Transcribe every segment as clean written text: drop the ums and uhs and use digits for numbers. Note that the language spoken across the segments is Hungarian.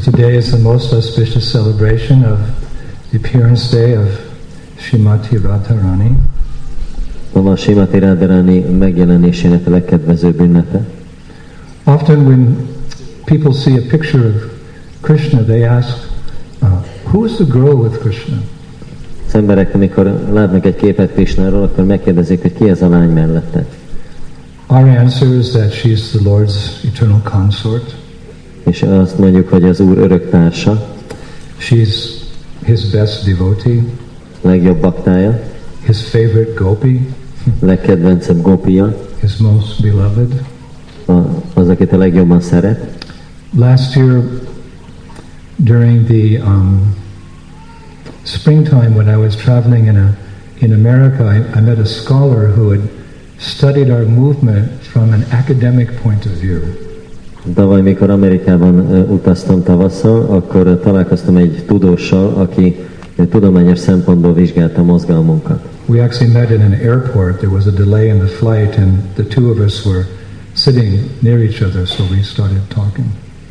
Today is the most auspicious celebration of the appearance day of Srimati Radharani. Ma Srimati Radharani megjelenésének a legkedvezőbb ünnepe. Often when people see a picture of Krishna, they ask, who is the girl with Krishna? Az emberek, amikor látnak egy képet Krishnáról, akkor megkérdezik, hogy ki ez a lány mellette. Our answer is that she is the Lord's eternal consort. És azt mondjuk, hogy az Úr örök társa. She's his best devotee. Legjobb baktája. His favorite gopi. Legkedvencebb gopia. His most beloved. Az, akit a legjobban szeret. Last year, during the springtime when I was traveling in America, I met a scholar who had studied our movement from an academic point of view. Tavaly, mikor Amerikában utaztam tavasszal, akkor találkoztam egy tudóssal, aki tudományos szempontból vizsgálta mozgalmunkat. We actually met in an airport. There was a delay in the flight, and the two of us were sitting near each other, so we started talking.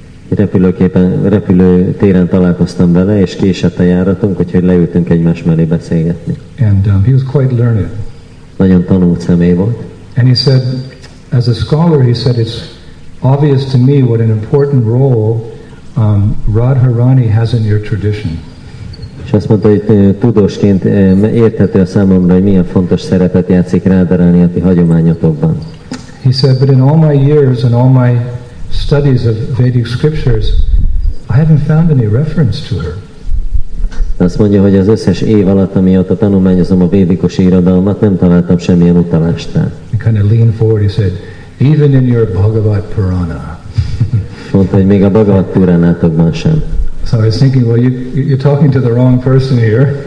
Repülőtéren találkoztam vele, és késett a járatunk, úgyhogy leültünk egymás mellé beszélgetni. And he was quite learned. Nagyon tanult személy volt. And he said, as a scholar, he said, it's obvious to me what an important role Radharani has in your tradition. És azt mondta, hogy tudósként érthető a számomra, hogy milyen fontos szerepet játszik Radharani a ti hagyományotokban. He said, but in all my years and all my studies of Vedic scriptures, I haven't found any reference to her. Azt mondja, hogy az összes év alatt, amióta tanulmányozom a védikus irodalmat, nem találtam semmilyen utalást rá. He kind of leaned forward, he said, even in your Bhagavad Purana. Mondta, hogy még a Bhagavad Puránátokban sem. So I was thinking, well, you're talking to the wrong person here.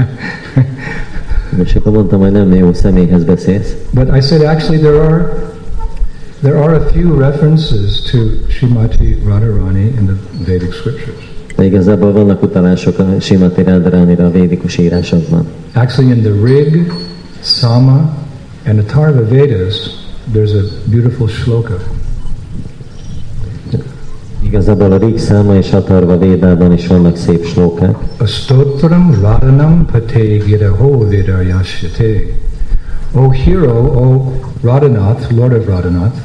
És akkor mondtam, hogy nem jó személyhez beszélsz. But I said, actually, there are a few references to Srimati Radharani in the Vedic scriptures. De igazából vannak utalások a Srimati Radharanira a védikus írásokban. Actually, in the Rig, Sama, and Atharva Vedas, there's a beautiful shloka. Igazából a Rig, Száma és Atharva Védában is vannak szép slókák. Astotram Radhanam Pate Giraho Vedayasyate. O hero, O Radhanath, Lord of Radhanath.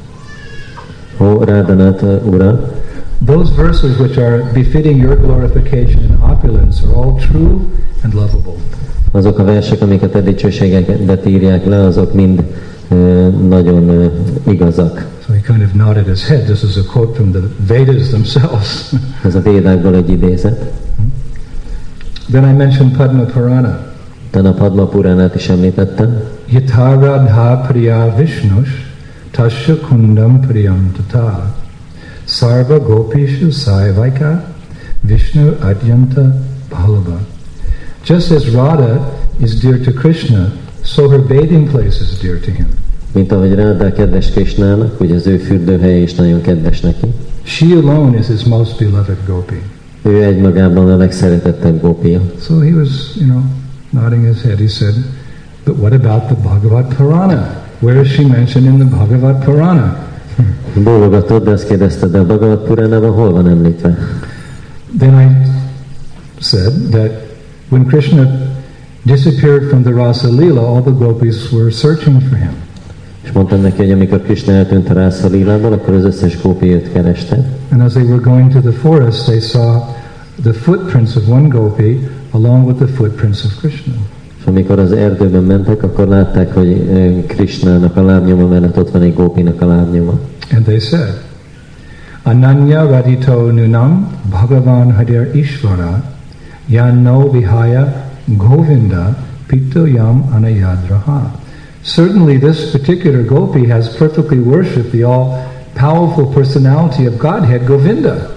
O Radhanath ura. Those verses which are befitting your glorification and opulence are all true and lovable. Azok a versek, amiket a dicsőségeket írják le, azok mind nagyon igazak. So he kind of nodded his head. This is a quote from the Vedas themselves. Ez a Védákból egy idézet. Then I mentioned Padma Purana. Utána a Padma Puránát is említettem. Yatha Radha Priya Vishnus Tasya Kundam Priyam Tata Sarva Gopishu Saivaika Vishnu Adyanta Bhalava. Just as Radha is dear to Krishna, so her bathing place is dear to him. Mint ahogy Radha kedves Krishnának, ugye az ő fürdőhelye is nagyon kedves neki. She alone is his most beloved gopi. Ő egymagában a legszeretettebb gópia. So he was, nodding his head. He said, but what about the Bhagavad Purana? Where is she mentioned in the Bhagavad Purana? Bólogatott, de azt kérdezte, de a Bhagavad Puránában hol van említve? Then I said that when Krishna disappeared from the Rasa Lila, all the gopis were searching for him. És mondtam neki, hogy amikor Krishna eltűnt a Rasa Lilából, akkor az összes gópi őt kereste. And as they were going to the forest, they saw the footprints of one gopi along with the footprints of Krishna. És amikor az erdőben mentek, akkor látták, hogy Krishnának a lábnyoma mellett ott van egy gópinak a lábnyoma. And they said, Ananya Radito Nunam Bhagavan Hadir Ishvara Yanno Vihaya Govinda Pito Yam Anayadraha. Certainly this particular gopi has perfectly worshipped the all-powerful personality of Godhead, Govinda.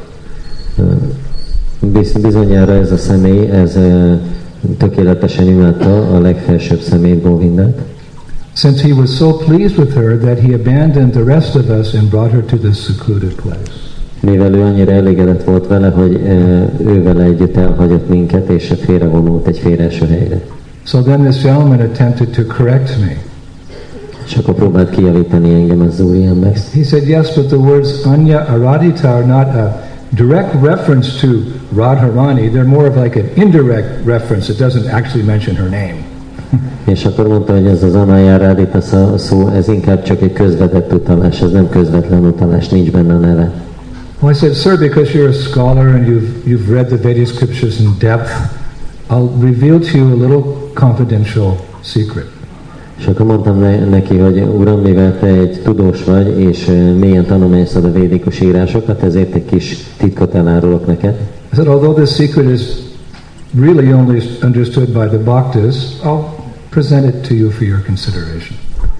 Bizonyára ez a személy, ez tökéletesen imádta a legfelsőbb személyt, Govindát. Since he was so pleased with her that he abandoned the rest of us and brought her to this secluded place. Mivel ő annyira elégedett volt vele, hogy ő vele együtt elhagyott minket, és félrevonult egy félreeső helyre. So then this gentleman attempted to correct me. És akkor próbált kijavítani engem az úriember. He said, yes, but the words Anya Aradita are not a direct reference to Radharani, they're more of like an indirect reference. It doesn't actually mention her name. És akkor mondta, hogy ez az Anajáradita szó, ez inkább csak egy közvetett utalás, ez nem közvetlen utalás, nincs benne a neve. Well, I said, sir, because you're a scholar and you've read the Vedic scriptures in depth, I'll reveal to you a little confidential secret. És akkor mondtam neki, hogy uram, mivel te egy tudós vagy, és mélyen tanulmányoztad a védikus írásokat, ezért egy kis titkot elárulok neked. I said, although this secret is really only understood by the bhaktas, I'll present it to you for your consideration.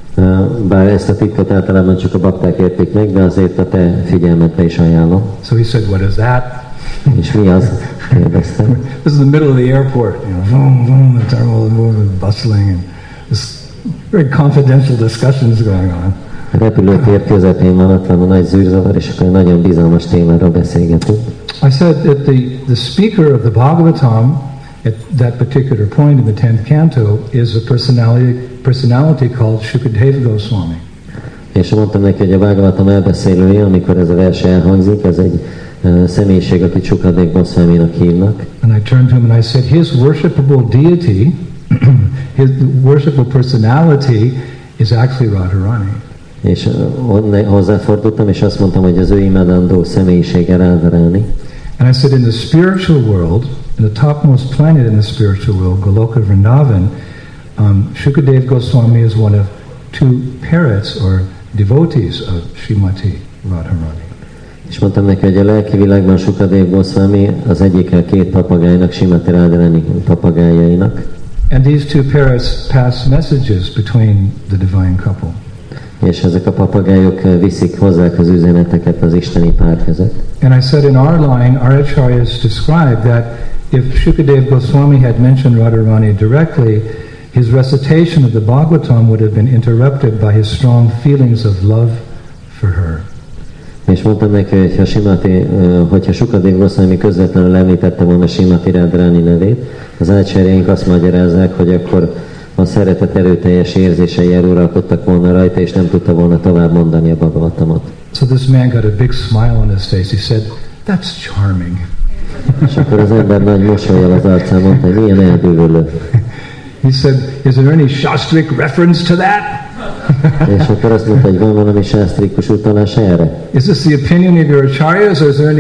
Bár ezt a titkot általában csak a bakták értik meg, de azért a te figyelmedbe is ajánlom. So he said, what is that? És mi az? Kérdeztem. This is the middle of the airport, vroom, vroom, the terminal is moving, bustling, and this very confidential discussions going on. A repülőtér közepén van, ott van a nagy zűrzavar, és akkor nagyon bizalmas témáról beszélgetünk. I said that the speaker of the Bhagavatam at that particular point in the 10th canto is a personality called Shukadeva Goswami. És mondtam neki, hogy a Bhagavatam elbeszélője, amikor ez a vers elhangzik, ez egy személyiség, akit Shukadeva Goswaminak hívnak. And I turned to him and I said, his worshipable deity, his worshipable personality is actually Radharani. És hozzáfordultam, és azt mondtam, hogy az ő imádandó személyisége Radharani. And I said, in the spiritual world, in the topmost planet in the spiritual world, Goloka Vrindavan, Shukadeva Goswami is one of two parrots or devotees of Srimati Radharani. És mondtam neki, hogy a lelki világban Shukadeva Goswami az egyik két papagájnak, Srimati Radharani papagájainak. And these two parrots pass messages between the divine couple. És ezek a papagájok viszik hozzá az üzeneteket az isteni pár között. And I said in our line, our acharyas described that if Shukadeva Goswami had mentioned Radharani directly, his recitation of the Bhagavatam would have been interrupted by his strong feelings of love for her. És mondtam neki, hogyha Shukadeva Goswami közvetlenül említette volna Srimati Radharani nevét, az ácsárjaink azt magyarázzák, hogy akkor a szeretet erőteljes érzései eluralkodtak volna rajta, és nem tudta volna tovább mondani a Bhagavatamot. So this man got a big smile on his face. He said, "That's charming." És akkor az ember nagy mosollyal az arcán mondta, hogy milyen elbűvölő. He said, "Is there any Shastric reference to that?" És akkor azt mondta, hogy van valami sásztrikus utalás erre? Is this the opinion of your acharyas, or is there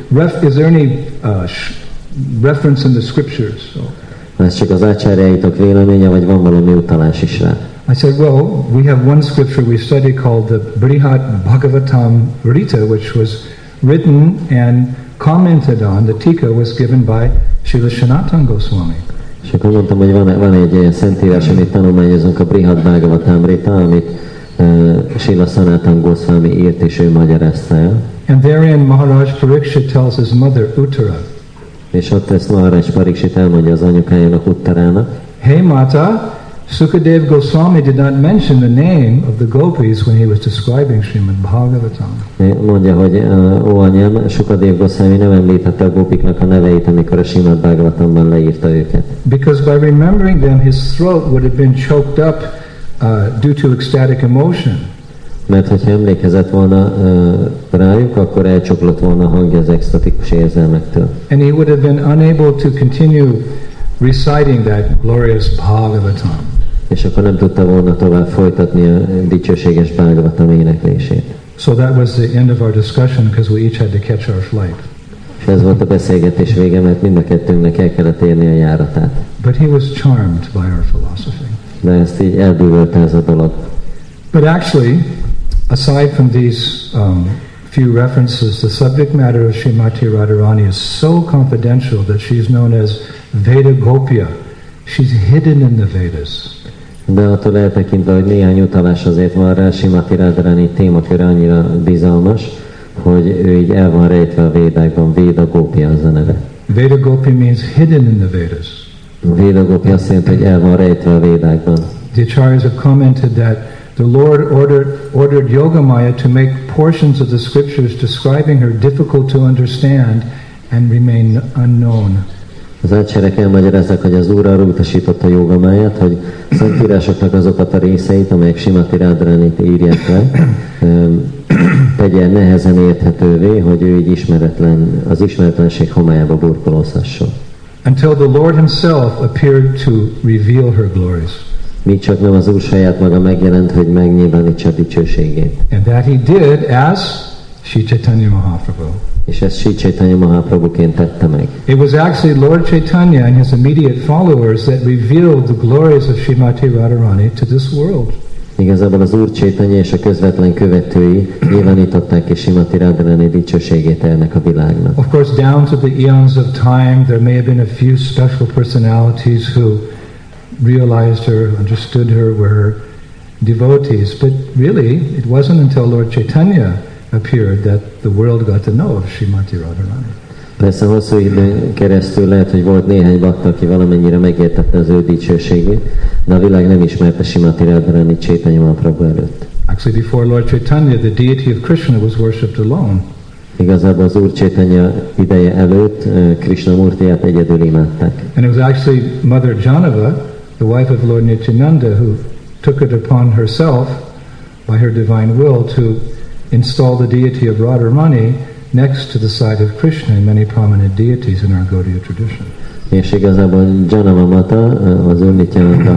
any reference in the scriptures? So, ez csak az ácsárjaitok véleménye, vagy van valami utalás is rá? I said, well, we have one scripture we study called the Brihat Bhagavatam Rita, which was written and commented on. The tika was given by Srila Sanatana Goswami. És akkor mondtam, hogy van egy ilyen szentírás, amit tanulmányozunk, a Brihat Bhagavatam Rita, amit Srila Sanatana Goswami írt, és ő magyarázta el. And therein Maharaj Parikshit tells his mother Uttara. És ott ezt Maharaj Parikshit elmondja az anyukájának, Uttarának. Hey Mata, Sukadeva Goswami did not mention the name of the gopis when he was describing Srimad Bhagavatam. Mondja, hogy ó anyám, Sukadeva Goswami nem említette a gópiknak a neveit, amikor a Srimad Bhagavatamban leírta őket. Because by remembering them, his throat would have been choked up due to ecstatic emotion. Mert hogyha emlékezett volna rájuk, akkor elcsoklott volna a hangja az extatikus érzelmektől. And he would have been unable to continue reciting that glorious Bhagavatam. És akkor nem tudta volna tovább folytatni a dicsőséges Bhagavatam éneklését. So that was the end of our discussion because we each had to catch our flight. És ez volt a beszélgetés vége, mert mind a kettőnknek el kellett érni a járatát. But he was charmed by our philosophy. De ezt így elbűvölte ez a dolog. But actually, aside from these few references, the subject matter of Srimati Radharani is so confidential that she's known as Veda Gopya. She's hidden in the Vedas. De attól eltekintve, hogy néhány utalás azért van rá, Srimati Radharani témaköre annyira bizalmas, hogy ő így el van rejtve a Védákban. Veda Gopya az a neve. Veda Gopya means hidden in the Vedas. Veda Gopya azt jelenti, hogy el van rejtve a Védákban. The acharyas have commented that the Lord ordered Yogamaya to make portions of the scriptures describing her difficult to understand and remain unknown. Az ácserek elmagyarázzák, hogy az Úr arra utasította Jogamáját, hogy szentírásoknak azokat a részeit, amelyek Srimati Radharanit írják le, tegye nehezen érthetővé, hogy ő így az ismeretlenség homályába burkolózhasson. Until the Lord himself appeared to reveal her glories. Míg csak nem az Úr saját maga megjelent, hogy megnyilvánítsa dicsőségét. And that he did as Sri Chaitanya Mahaprabhu. És ezt Sri Chaitanya Mahaprabhuként tette meg. It was actually Lord Chaitanya and his immediate followers that revealed the glories of Srimati Radharani to this world. Igazából az Úr Chaitanya és a közvetlen követői nyilvánították ki Srimati Radharani dicsőségét ennek a világnak. Of course, down to the eons of time, there may have been a few special personalities who realized her, understood her, were her devotees. But really, it wasn't until Lord Chaitanya appeared that the world got to know of Srimati Radharani. Persze hosszú időn keresztül lehet, hogy volt néhány bakta, aki valamennyire megértette az ő dicsőségét, de a világ nem ismerte Srimati Radharani Chaitanya Mahaprabhu előtt. Actually, before Lord Chaitanya, the deity of Krishna was worshipped alone. Igazából az Úr Chaitanya ideje előtt Krishna Murtiját egyedül imádták. And it was actually Mother Janava, the wife of Lord Nityananda, who took it upon herself by her divine will to install the deity of Radharani next to the side of Krishna and many prominent deities in our Gaudiya tradition. És igazából Janava Mata, az Úr Nityananda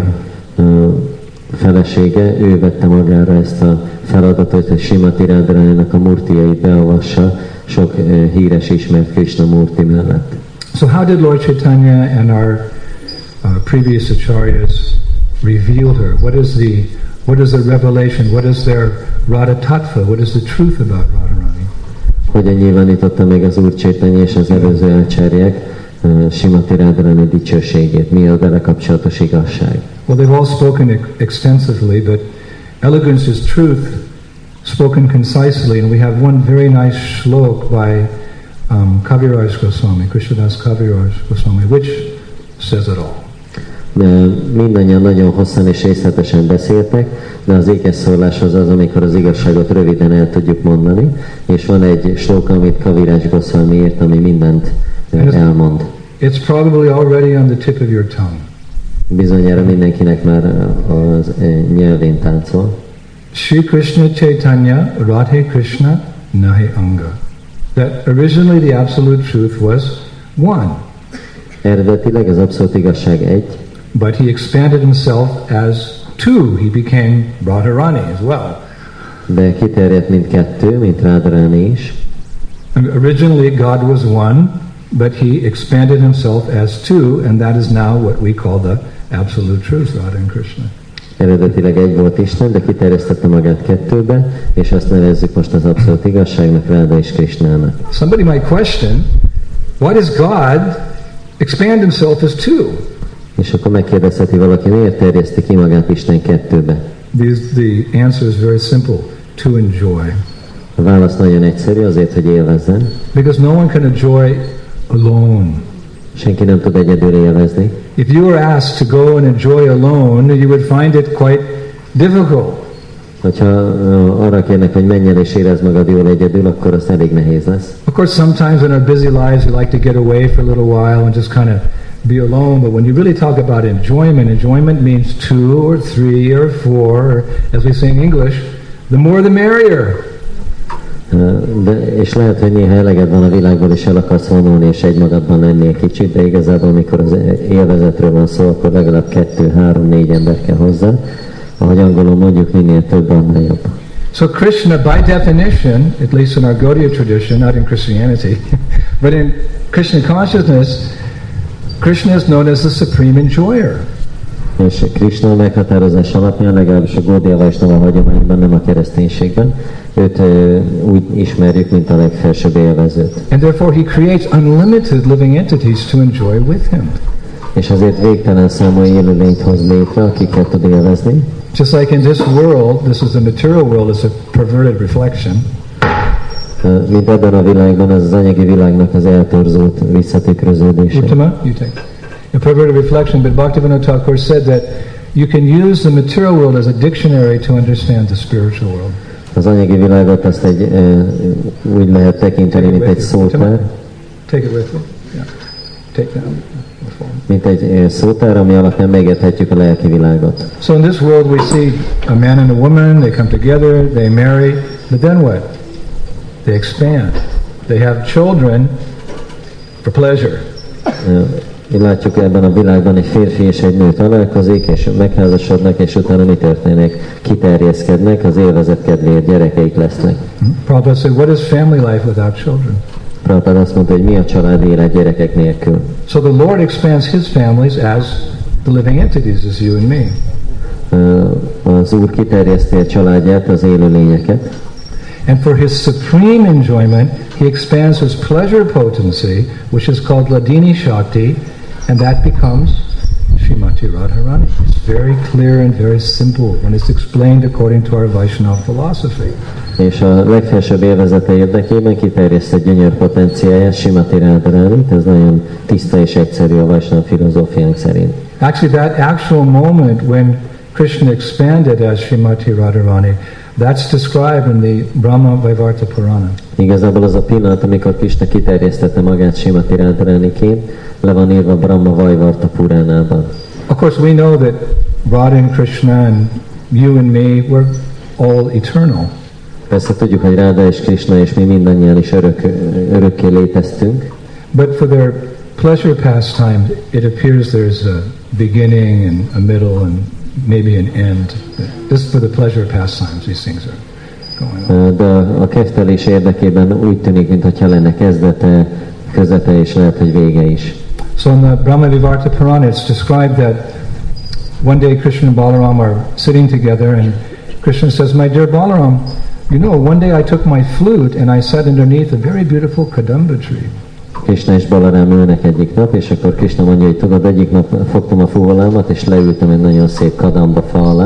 felesége, ő vette magára ezt a feladatot, hogy Srimati Radharaninak a murtijait beavassa sok híres ismert Krishna murti mellett. So how did Lord Chaitanya and our previous acharyas reveal her? What is the revelation? What is their Radha Tattva? What is the truth about Radharani? Hogyan nyilvánította meg az Úr Chaitanya és az előző ácsárják Srimati Radharani dicsőségét? Mi a vele kapcsolatos igazság? Well, they've all spoken extensively, but elegance is truth spoken concisely, and we have one very nice shlok by Kaviraj Goswami, Krishnadas Kaviraj Goswami, which says it all. Mindannyian nagyon hosszan és részletesen beszéltek, de az ékeszszólás az, amikor az igazságot röviden el tudjuk mondani, és van egy slóka, amit Kaviraj Goswami írt, ami mindent elmond. It's probably already on the tip of your tongue. Bizonyára mindenkinek már az nyelvén táncol. Shri Krishna Chaitanya Radhe Krishna Nahi Anga. That originally the absolute truth was one. Eredetileg az abszolút igazság egy. But he expanded himself as two. He became Radharani as well. De kiterjedt mint kettő, mint Radharani is. And originally God was one, but he expanded himself as two, and that is now what we call the absolute truth, Radha and Krishna. Eredetileg egy volt Isten, de kiterjesztette magát kettőbe, és azt nevezzük most az abszolút igazságnak, Radha és Krishnának. Somebody might question, why does God expand himself as two? És akkor megkérdezheti valaki, miért terjeszti ki magát Isten kettőbe? The answer is very simple, to enjoy. A válasz nagyon egyszerű, azért, hogy élvezzen. Because no one can enjoy alone. Senki nem tud egyedül élvezni. If you were asked to go and enjoy alone, you would find it quite difficult. Hogyha arra kérnek, hogy menj el és érezd magad jól egyedül, akkor az elég nehéz lesz. Of course, sometimes in our busy lives we like to get away for a little while and just kind of be alone, but when you really talk about enjoyment means 2 or 3 or 4, or as we say in English, the more the merrier. És lehet, hogy néha eleged van a világból, és el akarsz vonulni, és egymagadban lenni egy kicsit, de igazából, amikor az élvezetről van szó, akkor legalább 2, 3, 4 ember kell hozzá. Ahogy angolul mondjuk, minél több, annál jobb. So Krishna, by definition, at least in our Gaudiya tradition, not in Christianity, but in Krishna consciousness, Krishna is known as the supreme enjoyer. És Krishna meghatározás alapján, legalábbis a Gaudiya Vaishnava hagyományban, nem a kereszténységben, őt úgy ismerjük, mint a legfelsőbb élvezőt. And therefore he creates unlimited living entities to enjoy with him. És azért végtelen számú élőlényt hoz létre, akiket tud élvezni. Just like in this world, this is the material world, is a perverted reflection. Mint ebben a világban, ez az anyagi világnak az eltorzult visszatükröződése. Uttama, you take. A perverted reflection, but Bhaktivinoda Thakur said that you can use the material world as a dictionary to understand the spiritual world. Az anyagi világot azt úgy lehet tekinteni, mint egy szótár. Take it with you. Yeah. Take that. Mint egy szótár, ami alapján megérthetjük a lelki világot. So in this world we see a man and a woman, they come together, they marry, but then what? they expand. They have children for pleasure. Látjuk ebben a világban egy férfi és egy nő találkozik, és megházasodnak, és utána mi történik? Kiterjeszkednek, az élvezet kedvéért gyerekeik lesznek. Prabhupada said, what is family life without children? Prabhupada azt mondta, hogy mi a család élet gyerekek nélkül. So the Lord expands his families as the living entities, as you and me. Az Úr kiterjeszti a családját, az élő lényeket. And for his supreme enjoyment, he expands his pleasure potency, which is called Ladini Shakti, and that becomes Srimati Radharani. It's very clear and very simple when it's explained according to our Vaishnava philosophy. És a legfelsőbb élvezete érdekében kiterjesztett gyönyör potenciáját, Srimati Radharani, ez nagyon tiszta és egyszerű a Vaishnava filozófiánk szerint. Actually, that actual moment when Krishna expanded as Srimati Radharani, that's described in the Brahma Vaivarta Purana. Igazából az a pillanat, amikor Krishna kiterjesztette magát Srimati Radharaniként, le van írva Brahma Vaivarta Puránában. Of course, we know that Radha and Krishna and you and me, we're all eternal. Persze tudjuk, hogy Ráda és Krishna és mi mindannyian is örökké léteztünk. But for their pleasure pastimes, it appears there's a beginning and a middle and maybe an end. This for the pleasure pastimes, these things are going on. De a kedvelés érdekében úgy tűnik, mintha lenne kezdete, közepe és lehet, hogy vége is. So in the Brahma Vaivarta Purana, it's described that one day Krishna and Balaram are sitting together, and Krishna says, "My dear Balaram, you know, one day I took my flute and I sat underneath a very beautiful kadamba tree." Krishna és Balarám ülnek egyik nap, és akkor Krishna mondja, hogy tudod, egyik nap fogtam a fuvolámat, és leültem egy nagyon szép kadamba fa alá.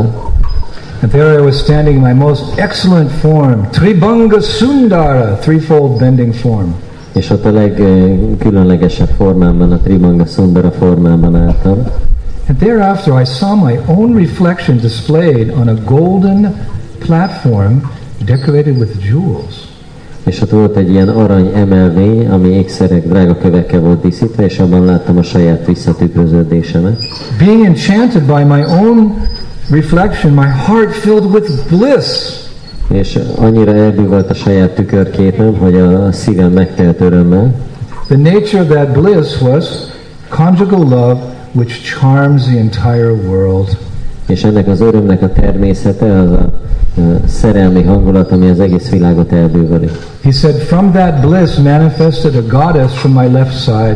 And there I was standing in my most excellent form, Tribhanga Sundara, threefold bending form. És ott a legkülönlegesebb formámban, a Tribhanga Sundara formában álltam. And thereafter I saw my own reflection displayed on a golden platform decorated with jewels. És ott volt egy ilyen arany emelvény, ami ékszerek, drága kövekkel volt díszítve, és abban láttam a saját visszatükröződésemet. Being enchanted by my own reflection, my heart filled with bliss. És annyira elbűvölt a saját tükörképem, hogy a szívem megtelt örömmel. The nature of that bliss was conjugal love, which charms the entire world. És ennek az örömnek a természete az a szerelmi hangulat, ami az egész világot elbűvöli. He said, from that bliss manifested a goddess from my left side.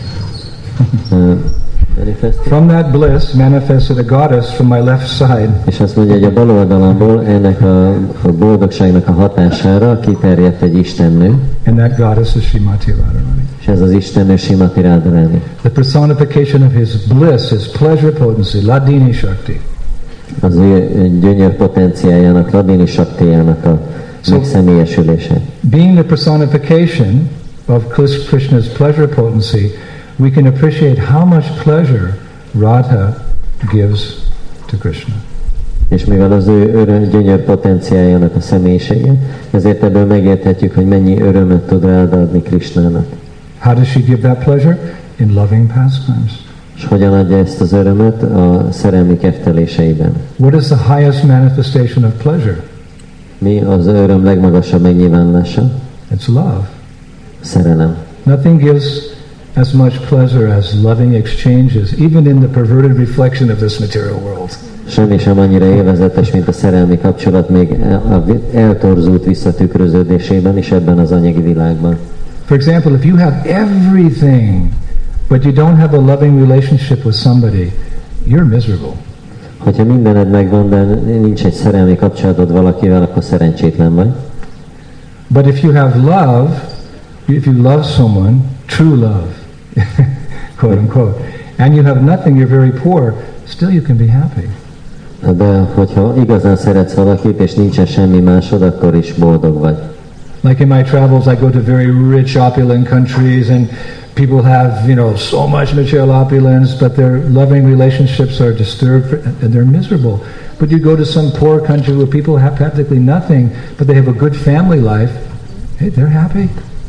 From that bliss manifested a goddess from my left side. És azt mondja, hogy a bal oldalamból ennek a boldogságnak a hatására kiterjedt egy istennő. And that goddess is Srimati Radharani. És ez az istennő Srimati Radharani. The personification of his bliss, his pleasure potency, Ladini Shakti. Az ő gyönyör potenciájának, Ladini Shaktijának a megszemélyesülése. Being the personification of Krishna's pleasure potency, we can appreciate how much pleasure Radha gives to Krishna. És mivel az ő gyönyör potenciájának a személyisége, ezért ebből megérthetjük, hogy mennyi örömet tud ráadni Krishnának. How does she give that pleasure? In loving pastimes. És hogyan adja ezt az örömet a szerelmi kefteléseiben? What is the highest manifestation of pleasure? Mi az öröm legmagasabb megnyilvánulása? It's love. Szerelem. Nothing gives as much pleasure as loving exchanges, even in the perverted reflection of this material world. Semmi sem annyira élvezetes, mint a szerelmi kapcsolat, még eltorzult visszatükröződésében is ebben az anyagi világban. For example, if you have everything, but you don't have a loving relationship with somebody, you're miserable. Hogyha mindened megvan, de nincs egy szerelmi kapcsolatod valakivel, akkor szerencsétlen vagy. But if you have love, if you love someone, true love, quote unquote, and you have nothing, you're very poor, still you can be happy. De hogyha igazán szeretsz valakit, és nincsen semmi másod, akkor is boldog vagy. Like in my travels, I go to very rich, opulent countries, and people have, so much material opulence, but their loving relationships are disturbed, and they're miserable. But you go to some poor country where people have practically nothing, but they have a good family life, hey, they're happy.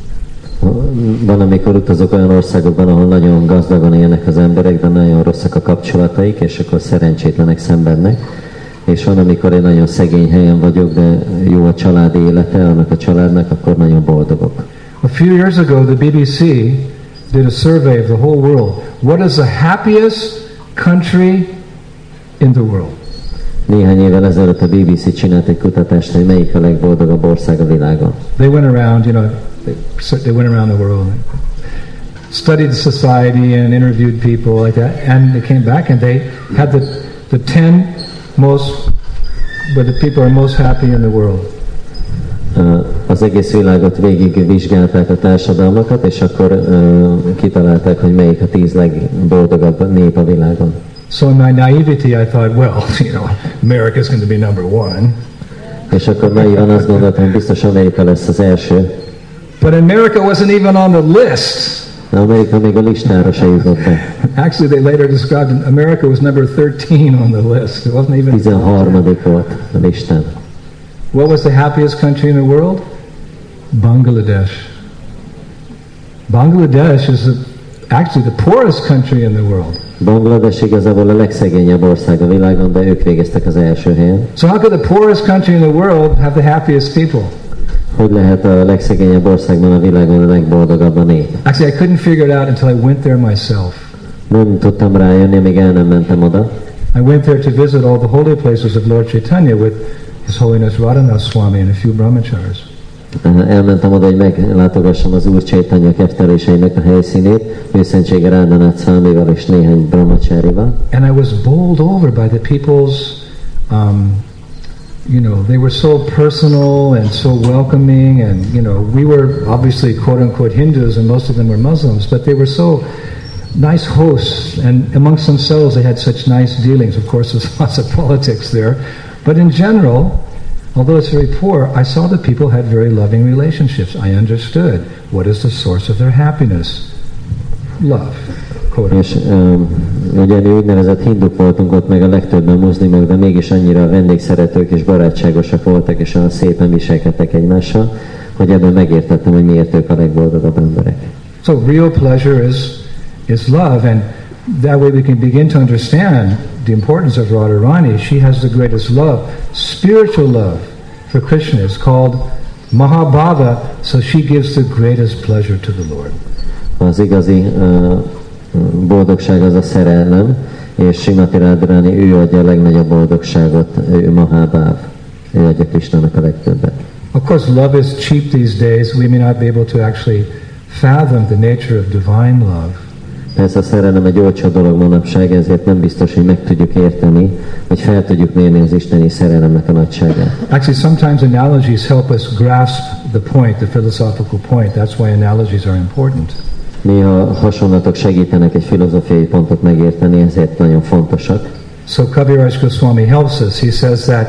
Van, amikor utazok olyan országokban, ahol nagyon gazdagon élnek az emberek, de nagyon rosszak a kapcsolataik, és akkor szerencsétlenek, szenvednek. és van, amikor egy nagyon szegény helyen vagyok, de jó a családi élete, annak a családnak, akkor nagyon boldogok. A few years ago, the BBC did a survey of the whole world. What is the happiest country in the world? Néhány évvel ezelőtt a BBC csinált egy kutatást, hogy melyik a legboldogabb ország a világon. They went around, they went around the world, studied the society and interviewed people like that, and they came back and they had the 10 most, where the people are most happy in the world. Az egész világot végig vizsgálták a társadalmakat, és akkor kitalálták, hogy melyik a 10 legboldogabb nép a világon. So in my naivety, I thought, well, America's going to be number one. És akkor naívan azt gondoltam, hogy biztos Amerika lesz az első. But America wasn't even on the list. Amerika még a listára se jutott be. Actually, they later described America was number 13 on the list. It wasn't even 13. volt a listán. What was the happiest country in the world? Bangladesh. Bangladesh is actually the poorest country in the world. Bangladesh igazából a legszegényebb ország a világon, de ők végeztek az első helyen. So how could the poorest country in the world have the happiest people? Hogy lehet a legszegényebb országban a világon a legboldogabb a nép? Actually, I couldn't figure it out until I went there myself. Nem tudtam rájönni, amíg el nem mentem oda. I went there to visit all the holy places of Lord Chaitanya with His Holiness Radhanath Swami and a few brahmacharis. Elmentem oda, hogy meglátogassam az Úr Chaitanya kefteléseinek a helyszínét, őszentsége Radhanath Swamival és néhány brahmacharival. And I was bowled over by the people's, they were so personal and so welcoming, and we were obviously quote-unquote Hindus and most of them were Muslims, but they were so nice hosts, and amongst themselves they had such nice dealings. Of course, there's lots of politics there, but in general, although it's very poor, I saw that people had very loving relationships. I understood what is the source of their happiness. Love. És ugye mi úgynevezett hinduk voltunk ott, meg a legtöbben muszlimok, de mégis annyira vendégszeretők és barátságosak voltak, és olyan szépen viselkedtek egymással, hogy ebben megértettem, hogy miért ők a legboldogabb emberek. So real pleasure is love, and that way we can begin to understand the importance of Radharani. She has the greatest love, spiritual love for Krishna. It's called Mahabhava, so she gives the greatest pleasure to the Lord. Az igazi boldogság az a szerelem, és Srimati Radharani, ő adja a legnagyobb boldogságot, ő Mahabhav, ő adja Krishnának a legtöbbet. Of course, love is cheap these days. We may not be able to actually fathom the nature of divine love. Persze a szerelem egy olcsó dolog manapság, ezért nem biztos, hogy meg tudjuk érteni, vagy fel tudjuk mérni az isteni szerelemnek a nagyságát. Actually, sometimes analogies help us grasp the point, the philosophical point. That's why analogies are important. Néha hasonlatok segítenek egy filozófiai pontot megérteni, ezért nagyon fontosak. So Kaviraj Goswami helps us. He says that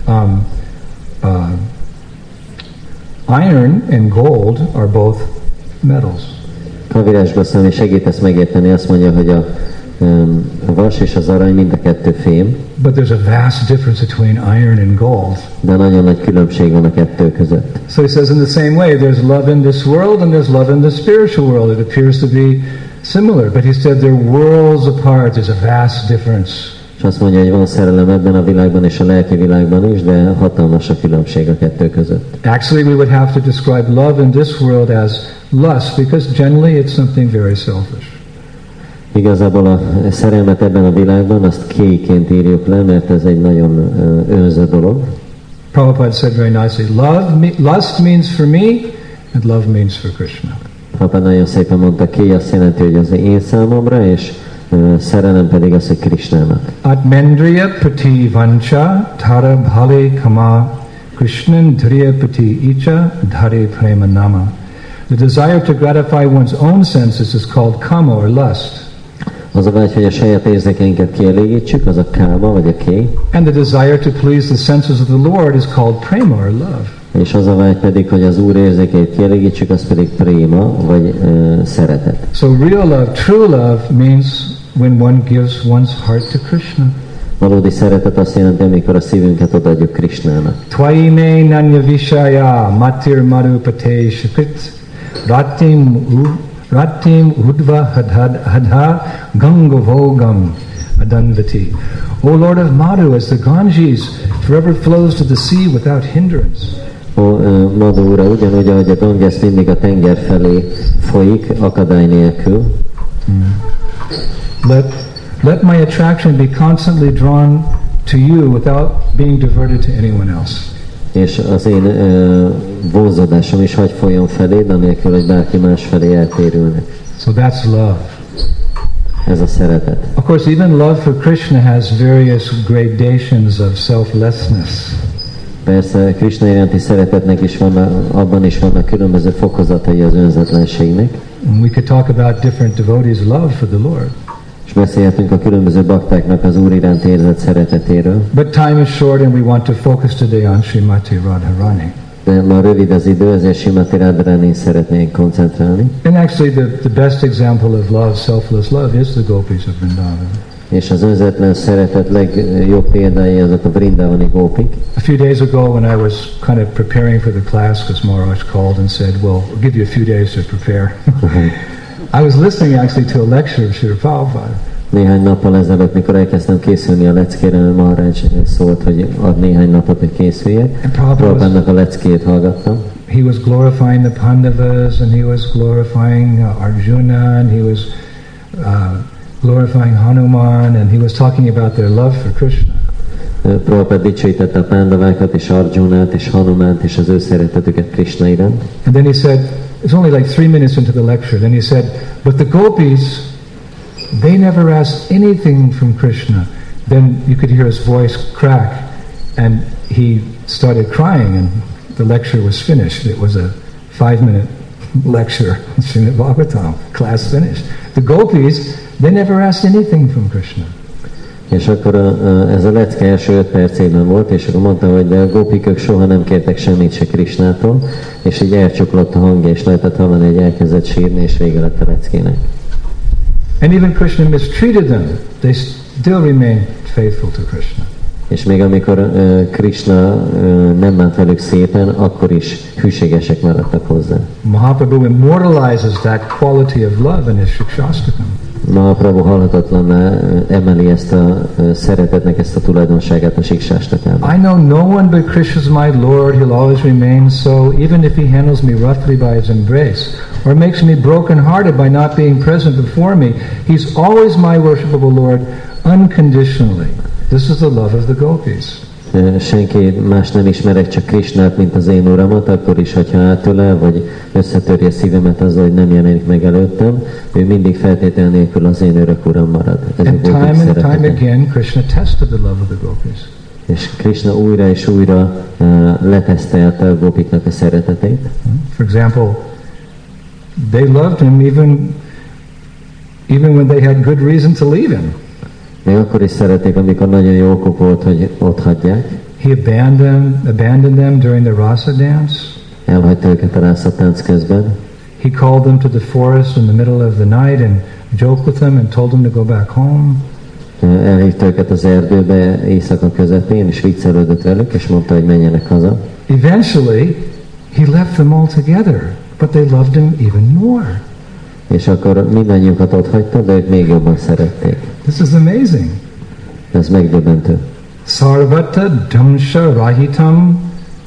iron and gold are both metals. Kaviraj Goswami segít ezt megérteni, azt mondja, hogy a vas és az arany mind a kettő fém. But there's a vast difference between iron and gold. De nagyon nagy különbség van a kettő között. So he says in the same way, there's love in this world and there's love in the spiritual world. It appears to be similar, but he said they're worlds apart. There's a vast difference. És azt mondja, hogy van szerelem ebben a világban és a lelki világban is, de hatalmas a különbség a kettő között. Actually, we would have to describe love in this world as lust, because generally it's something very selfish. Igazából a szerelmet ebben a világban azt kéiként írjuk le, mert ez egy nagyon önző dolog. Prabhupada said very nicely, lust means for me, and love means for Krishna. Prabhupada nagyon szépen mondta, kéj azt jelenti, hogy az én számomra, és szerelem pedig az, hogy Krishnának. Atmendriya pati vancha thara bhale kama Krishnan dhriya pati icha dhare prema nama. The desire to gratify one's own senses is called kama or lust. Az a vágy, hogy a saját érzékeinket kielégítsük, az a káma vagy a kéj. And the desire to please the senses of the Lord is called prema or love. És az a vágy pedig, hogy az Úr érzékeit kielégítsük, az pedig préma vagy szeretet. So real love, true love means when one gives one's heart to Krishna. Valódi szeretet azt jelenti, amikor a szívünket odaadjuk Krishnának. Twaime nanya vishaya matir marupate shakrit ratim udva hadha gangavogam adanvati. O Lord of Madhu, as the Ganges forever flows to the sea without hindrance. Madhu ura, ugyanúgy, ahogy a Ganges mindig a tenger felé folyik, akadály nélkül. Let my attraction be constantly drawn to you without being diverted to anyone else. És az én vonzódásom is hagy folyjon feléd, anélkül, hogy bárki más felé eltérülnek. So that's love. Ez a szeretet. Of course, even love for Krishna has various gradations of selflessness. Persze, Krishna iránti szeretetnek is abban is vannak különböző fokozatai az önzetlenségnek. And we could talk about different devotees' love for the Lord. És beszélhetünk a különböző baktáknak az Úr iránt érzett szeretetéről. But time is short and we want to focus today on Srimati Radharani. De ma rövid az idő, ezért Srimati Radharani szeretnénk koncentrálni. And actually the best example of love, selfless love, is the gopis of Vrindavan. És az önzetlen szeretet legjobb példái azok a vrindavani gópik. A few days ago when I was kind of preparing for the class, because Maharaj called and said, well, we'll give you a few days to prepare. I was listening actually to a lecture of Srila Prabhupada. Néhány nappal ezelőtt, mikor elkezdtem készülni a leckére, Maharaj szólt, hogy ad néhány napot, hogy készüljek. Prabhupádnak a leckét hallgattam. He was glorifying the Pandavas, and he was glorifying Arjuna, and he was glorifying Hanuman, and he was talking about their love for Krishna. Prabhupád dicsőítette a Pándavákat, és Arjunát, és Hanumánt, és az ő szeretetüket Krishna iránt. And then he said, it's only like 3 minutes into the lecture, then he said, but the gopis, they never asked anything from Krishna. Then you could hear his voice crack, and he started crying, and the lecture was finished. It was a 5-minute lecture, Srimad Bhagavatam, class finished. The gopis, they never asked anything from Krishna. És akkor ez a lecke első 5 percében volt, és akkor mondta, hogy de a gópikök soha nem kértek semmit se Krishnától, és így elcsuklott a hangja, és lehetett hallani, hogy elkezdett sírni, és vége lett a leckének. And even Krishna mistreated them, they still remained faithful to Krishna. És még amikor Krishna nem bánt velük szépen, akkor is hűségesek maradtak hozzá. Mahaprabhu immortalizes that quality of love in his Shikshastakam. Mahaprabhu halhatatlanná emeli ezt a szeretetnek ezt a tulajdonságát a Siksástakában. I know no one but Krishna is my Lord, he'll always remain so, even if he handles me roughly by his embrace, or makes me broken-hearted by not being present before me, he's always my worshipable Lord, unconditionally. This is the love of the gopis. Senki más nem ismerek, csak Krishnát, mint az én uramat, akkor is, hogyha átölel, vagy összetörje szívemet azzal, hogy nem jelenik meg előttem, ő mindig feltétel nélkül az én örök uram marad. Ez and time again, Krishna tested the love of the gopis. És Krishna újra és újra letesztelte a gópiknak a szeretetét. For example, they loved him even when they had good reason to leave him. Még akkor is szerették, amikor nagyon jó okuk volt, hogy ott hagyják. He abandoned them during the rasa dance. Elhagyta őket a rasa tánc közben. He called them to the forest in the middle of the night and joked with them and told them to go back home. Elhívta őket az erdőbe éjszaka közepén, és viccelődött velük, és mondta, hogy menjenek haza. Eventually, he left them all together, but they loved him even more. És akkor mindannyiukat ott hagyta, de ők még jobban szerették. This is amazing. Ez megdöbbentő. Sarvata dhamsa rahitam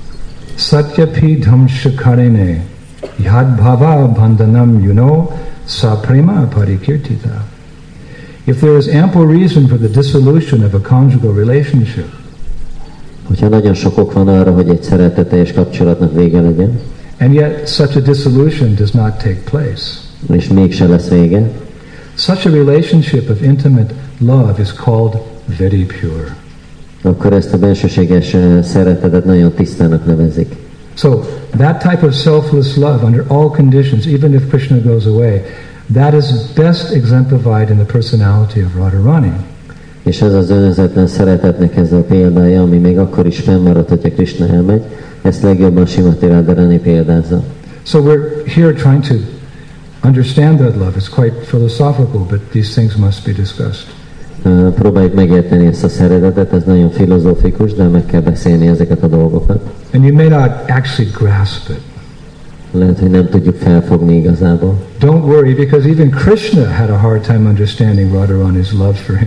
satyapi dhamsa karine yad bhava bandhanam sa prema parikirtita. If there is ample reason for the dissolution of a conjugal relationship, hogyha nagyon sok ok van arra, hogy egy szeretetteljes kapcsolatnak vége legyen, and yet such a dissolution does not take place, és mégse lesz vége, such a relationship of intimate love is called very pure. Akkor ezt a bensőséges szeretetet nagyon tisztának nevezik. So that type of selfless love under all conditions, even if Krishna goes away, that is best exemplified in the personality of Radharani. És ez az önzetlen szeretetnek ez a példája, ami még akkor is fennmarad, hogyha Krishna elmegy, ezt legjobban Srimati Radharani példázza. So we're here trying to understand that love. It's quite philosophical, but these things must be discussed. Próbáljuk megérteni ezt a szeretetet, ez nagyon filozófikus, de meg kell beszélni ezeket a dolgokat. And you may not actually grasp it. Lehet, hogy nem tudjuk felfogni igazából. Don't worry, because even Krishna had a hard time understanding Radharani's love for him.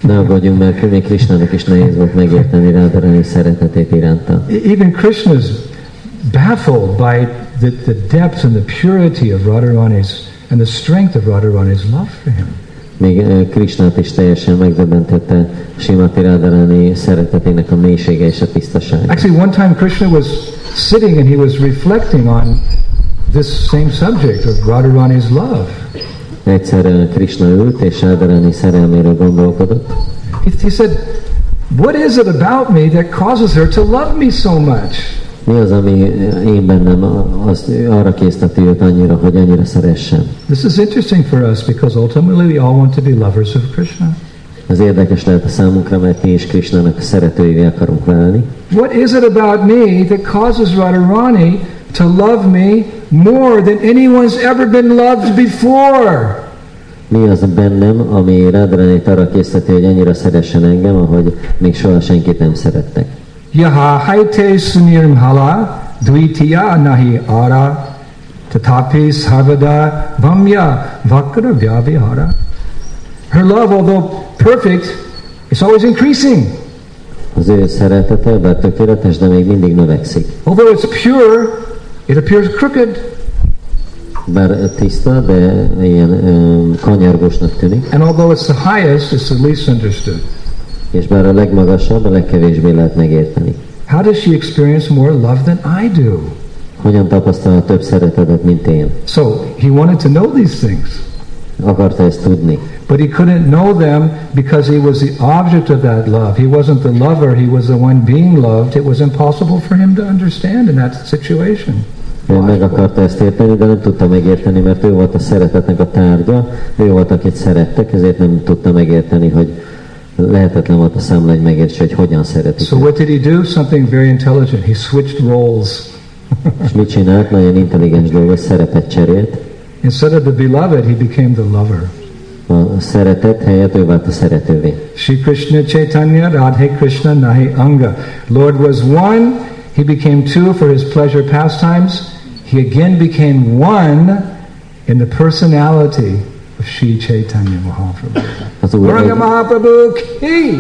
Ne aggódjunk, mert még Krishnának is nehéz volt megérteni Radharani szeretetét iránta. Even Krishna is baffled by the depth and the purity of Radharani's and the strength of Radharani's love for him. Még Krishnát is teljesen megdöbbentette Srimati Radharani szeretetének a mélysége és a tisztasága. Actually, one time Krishna was sitting and he was reflecting on this same subject of Radharani's love. Egyszer Krishna ült és Radharani szerelméről gondolkodott. He said, "What is it about me that causes her to love me so much?" Mi az, ami én bennem arra készteti őt annyira, hogy annyira szeressem? This is interesting for us because ultimately we all want to be lovers of Krishna. Ez érdekes lehet a számunkra, mert mi is Krishnának szeretőivé akarunk válni. What is it about me that causes Radharani to love me more than anyone's ever been loved before? Mi az bennem, ami Radharanit arra készteti, hogy annyira szeressen engem, ahogy még soha senkit nem szerettek? Yaha haite sunirmhala dvitiya nahi ara tatapi sarvada vamya vakra vyavihara. Her love, although perfect, is always increasing. Az ő szeretete, bár tökéletes, de még mindig növekszik. Although it's pure, it appears crooked. Bár tiszta, de ilyen kanyargósnak tűnik. And although it's the highest, it's the least understood. És bár a legmagasabb, a legkevésbé lehet megérteni. How does she experience more love than I do? Hogyan tapasztal több szeretetet, mint én? So he wanted to know these things. Akarta ezt tudni. But he couldn't know them because he was the object of that love. He wasn't the lover, he was the one being loved. It was impossible for him to understand in that situation. Ő meg akarta ezt érteni, de nem tudta megérteni, mert ő volt a szeretetnek a tárgya, ő volt, akit szerettek, ezért nem tudta megérteni, hogy lehetetlen volt a számla, hogy megértse, hogy hogyan szeretik. So what did he do? Something very intelligent. He switched roles. És mit csinált? Nagyon intelligens dolgot, szerepet cserélt. Instead of the beloved, he became the lover. A szeretet helyett ő vált a szeretővé. Shri Krishna Chaitanya Radhe Krishna Nahi Anga. Lord was one, he became two for his pleasure pastimes. He again became one in the personality of Shri Chaitanya Mahaprabhu. Gauranga Mahaprabhu ki!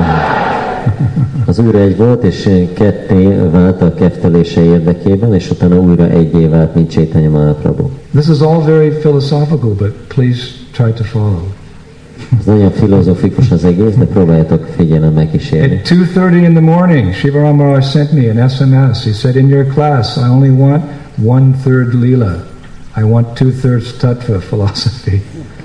Az újra egy volt, és ketté vált a keftelése érdekében, és utána újra egyé vált, mint Chaitanya Mahaprabhu. This is all very philosophical, but please try to follow. Ez nagyon filozofikus az egész, de próbáljátok figyelemmel kísérni. At 2:30 in the morning, Shiva Maharaj sent me an SMS. He said, in your class, I only want 1/3 lila. I want 2/3 tattva philosophy.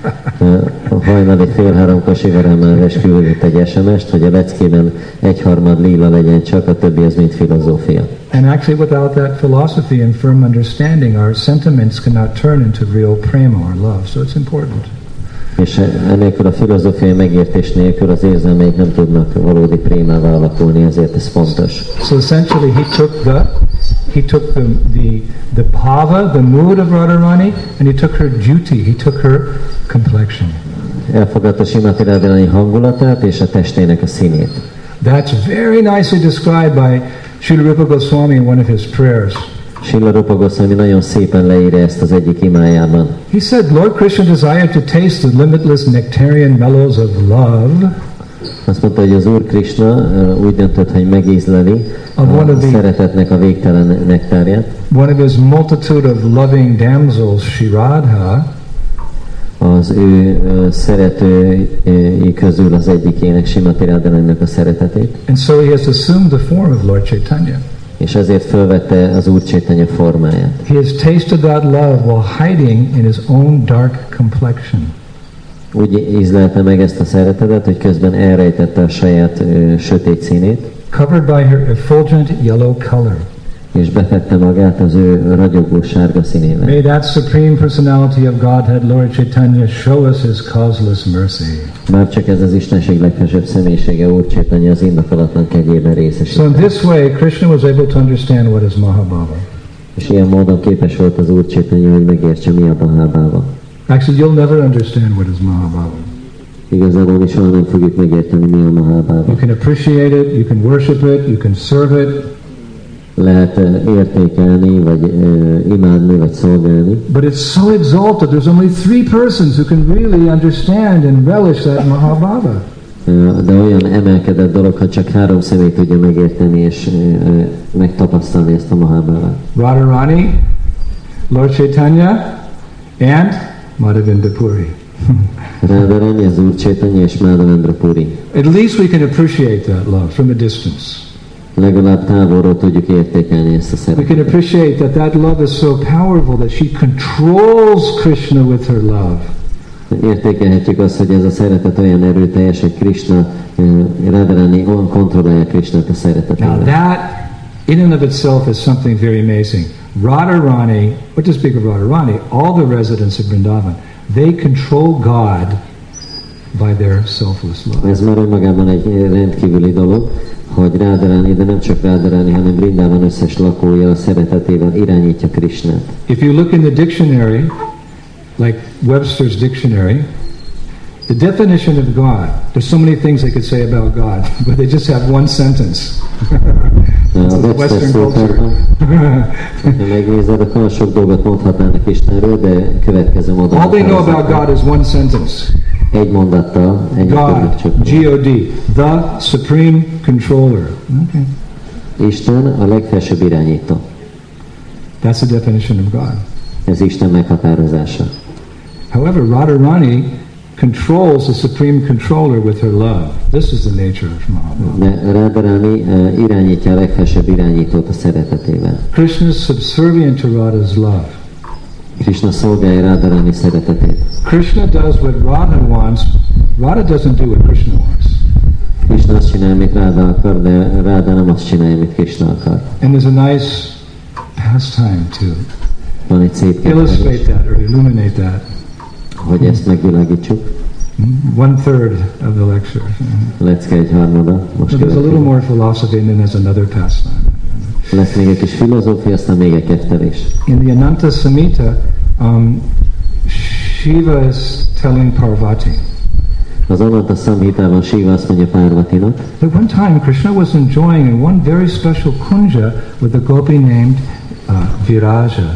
Hajnali 2:30 Shiva Maharaj küldött egy SMS-t, hogy a leckében 1/3 lila legyen csak, a többi az mind filozófia. And actually without that philosophy and firm understanding, our sentiments cannot turn into real prema or love. So it's important. És enélkül a filozófiai megértés nélkül az érzelmeik nem tudnak valódi prémává alakulni, ezért ez fontos. So essentially he took the bhava, the mood of Radharani, and he took her duty, he took her complexion. Elfogadta Srimati Radharani hangulatát és a testének a színét. That's very nicely described by Srila Rupa Goswami in one of his prayers. Srila Rupa Goswami nagyon szépen leírja ezt az egyik imájában. He said, Lord Krishna desired to taste the limitless nectarian mellows of love. Azt mondta, hogy az Úr Krishna úgy döntött, hogy megízleli a szeretetnek a végtelen nektárját. One of his multitude of loving damsels, Shri Radha, az ő szeretői közül az egyikének, Srimati Radharaninak a szeretetét. And so he has assumed the form of Lord Chaitanya. És ezért fölvette az Úr Chaitanya formáját. He has tasted that love while hiding in his own dark complexion. Úgy ízlelte meg ezt a szeretetet, hogy közben elrejtette a saját sötét színét. Covered by her effulgent yellow color. És befette magát az ő ragyogó sárga színével. May that supreme personality of Godhead, Lord Chaitanya, show us his causeless mercy. Már csak ez az Istenség legfelsőbb személyisége, Úr Chaitanya az indokolatlan kegyében részesít. So in this way, Krishna was able to understand what is Mahabhava. És ilyen módon képes volt az Úr Chaitanya, hogy megértse, mi a Mahabhava. Actually, you'll never understand what is Mahabhava. Igazából mi soha nem fogjuk megérteni, mi a Mahabhava. You can appreciate it, you can worship it, you can serve it. Lehet értékelni, vagy imádni, vagy szolgálni. But it's so exalted, there's only 3 persons who can really understand and relish that Mahabhava. de olyan emelkedett dolog, ha csak 3 személy tudja megérteni és megtapasztalni ezt a Mahabharát. Radharani, Lord Chaitanya, and Madhavendra Puri. Radharani, az Úr Chaitanya és Madhavendra Puri. At least we can appreciate that love from a distance. Legalább távolról tudjuk értékelni ezt a We can szeretetet. appreciate that love is so powerful that she controls Krishna with her love. Értékelhetjük azt, hogy ez a szeretet olyan erőteljes, hogy Krishna, Radharani olyan kontrollálja Krishnát a Now szeretetével. that in and of itself is something very amazing. Radharani, what does speak of Radharani? All the residents of Vrindavan, they control God by their selfless love. Ez már önmagában egy rendkívüli dolog, hogy Radharani, de nem csak Radharani, hanem Vrindavan összes lakója a szeretetével irányítja Krishnát. If you look in the dictionary, like Webster's dictionary, the definition of God, there's so many things they could say about God, but they just have one sentence. A Webster szótárban, ha megnézed, akkor sok dolgot mondhatnának Istenről, de következő mondat. All they know about God is one sentence. Egy mondattal, ennyit tudnak God, csak. G-O-D, the Supreme Controller. Okay. Isten a legfelsőbb irányító. That's the definition of God. Ez Isten meghatározása. However, Radharani controls the Supreme Controller with her love. This is the nature of Mahabharata. De Radharani irányítja a legfelsőbb irányítót a szeretetével. Krishna is subservient to Radha's love. Krishna szolgálja Radharani szeretetét. Krishna does what Radha wants. Radha doesn't do what Krishna wants. Krishna azt csinál, amit Radha akar, de Radha nem azt csinálja, amit Krishna akar. And there's a nice pastime to Van egy szép illustrate képzelés, that or illuminate that. hogy ezt megvilágítsuk. 1/3 of the lecture. Lecke egy harmada. Most So there's a little következik. more philosophy and then there's another pastime. Lesz még egy kis filozófia, aztán még egy kettelés. In the Ananta Samhita, Shiva is telling Parvati Az Ananta Samhitában Shiva azt mondja Parvatinak, that one time Krishna was enjoying in one very special kunja with a gopi named Viraja.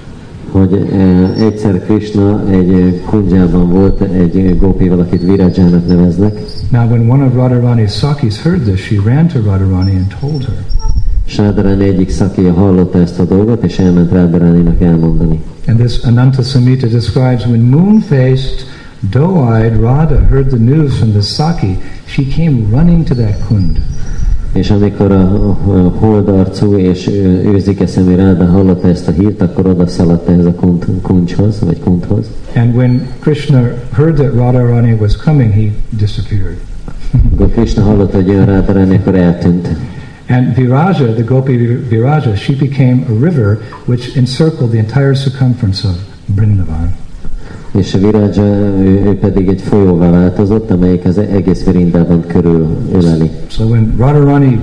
hogy egyszer Krishna egy kunjában volt egy gópival, akit Virajának neveznek, Now when one of Radharani's Sakis heard this, she ran to Radharani and told her. és Radharani egyik szakija hallotta ezt a dolgot, és elment Radharaninak elmondani. And this Ananta Samhita describes when moon-faced, doe-eyed Radha heard the news from the Saki, she came running to that kund. És amikor a holdarcú és őzike szemű Radha hallotta ezt a hírt, akkor oda szaladt ehhez a kuncshoz, vagy kunthoz. And when Krishna heard that Radharani was coming, he disappeared. Amikor Krishna hallotta, hogy jön Radharani, akkor eltűnt. And Viraja, the Gopi Viraja, she became a river which encircled the entire circumference of Vrindavan. És a Viraja, ő pedig egy folyóvá változott, amelyik az egész Vrindában körül öleli. So when Radharani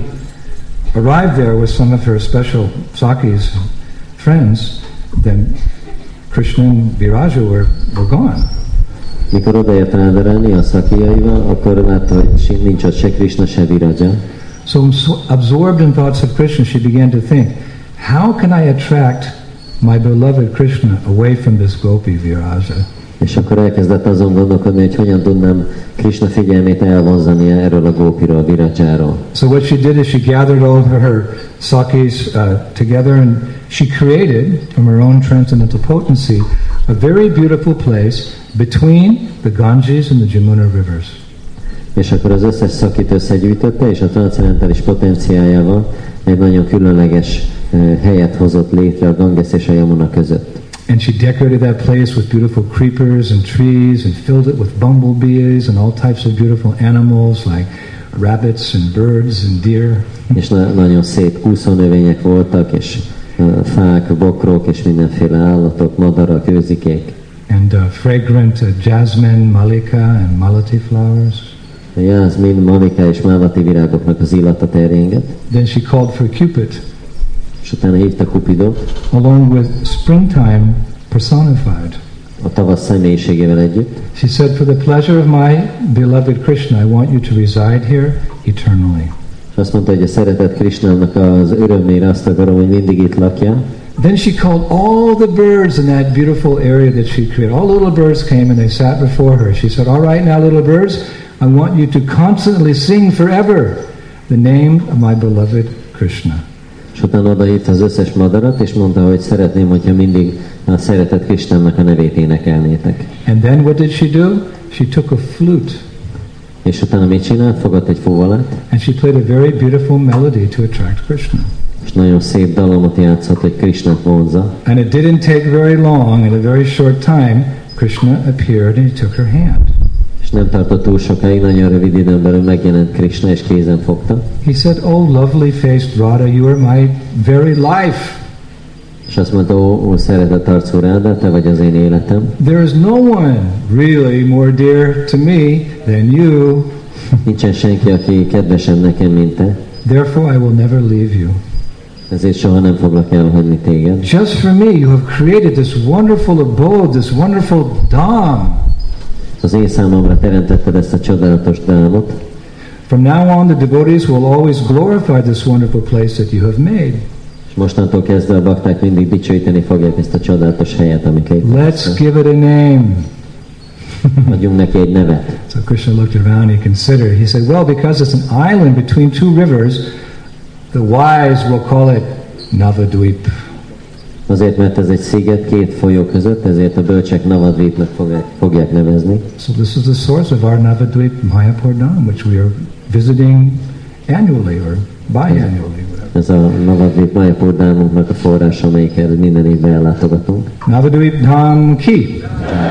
arrived there with some of her special Sakis friends, then Krishna and Viraja were gone. Mikor odaért Radharani a szakijaival, akkor látta, hogy nincs ott se Krishna, se Viraja. So absorbed in thoughts of Krishna, she began to think, how can I attract my beloved Krishna away from this Gopi Viraja? És akkor elkezdett azon gondolkodni, hogy hogyan tudnám Krishna figyelmét elvonzani erről a gópiról, Virajáról. So what she did is she gathered all her Sakis together and she created, from her own transcendental potency, a very beautiful place between the Ganges and the Jamuna rivers. És akkor az összes szakit összegyűjtötte, és a transzendentális potenciájával egy nagyon különleges helyet hozott létre a Ganges és a Yamuna között. And she decorated that place with beautiful creepers and trees and filled it with bumblebees and all types of beautiful animals like rabbits and birds and deer. És nagyon szép kúszónövények voltak, és fák, bokrok, és mindenféle állatok, madarak, őzikék. And fragrant jasmine, malika and malati flowers. A jászmin, malika és málati virágoknak az illata terjengett. Then she called for Cupid, És utána hívta Cupidot, along with springtime personified. a tavasz személyiségével együtt. She said, for the pleasure of my beloved Krishna, I want you to reside here eternally. És azt mondta, hogy a szeretett Krishnának az örömére azt akarom, hogy mindig itt lakja. Then she called all the birds in that beautiful area that she created. All little birds came and they sat before her. She said, all right now, little birds, I want you to constantly sing forever the name of my beloved Krishna. És utána odahívta az összes madarat, és mondta, hogy szeretném, hogyha mindig a szeretett Krisnának a nevét énekelnétek. And then what did she do? She took a flute. És utána mit csinált? Fogott egy fuvalat, And she played a very beautiful melody to attract Krishna. és nagyon szép dallamot játszott, hogy Krisnát vonzza. And it didn't take very long, in a very short time, Krishna appeared and he took her hand. És nem tartott túl sokáig, nagyon rövid időn belül megjelent Krishna, és kézen fogta. He said, "Oh, lovely-faced Radha, you are my very life. És azt mondta, ó szeretett arcú Ráda, te vagy az én életem. There is no one really more dear to me than you. Nincsen senki, aki kedvesebb nekem, mint te. Therefore, I will never leave you. Ezért soha nem foglak elhagyni téged. Just for me, you have created this wonderful abode, this wonderful dham. Az én számomra teremtetted ezt a csodálatos dámot. From now on, the devotees will always glorify this wonderful place that you have made. És mostantól kezdve a bakták mindig dicsőíteni fogják ezt a csodálatos helyet, amit Let's létrehoztál. give it a name. Adjunk neki egy nevet. So Krishna looked around, he considered. He said, well, because it's an island between two rivers, the wise will call it Navadvip. Azért, mert ez egy sziget két folyó között, ezért a bölcsek Navadvipnak fogják nevezni. So this is the source of our Navadvip Mayapur Dham, which we are visiting annually or biannually. Ez a Navadvip Mayapur Dhamunknak a forrása, amelyikhez minden évben ellátogatunk. Navadvip Dham Ki.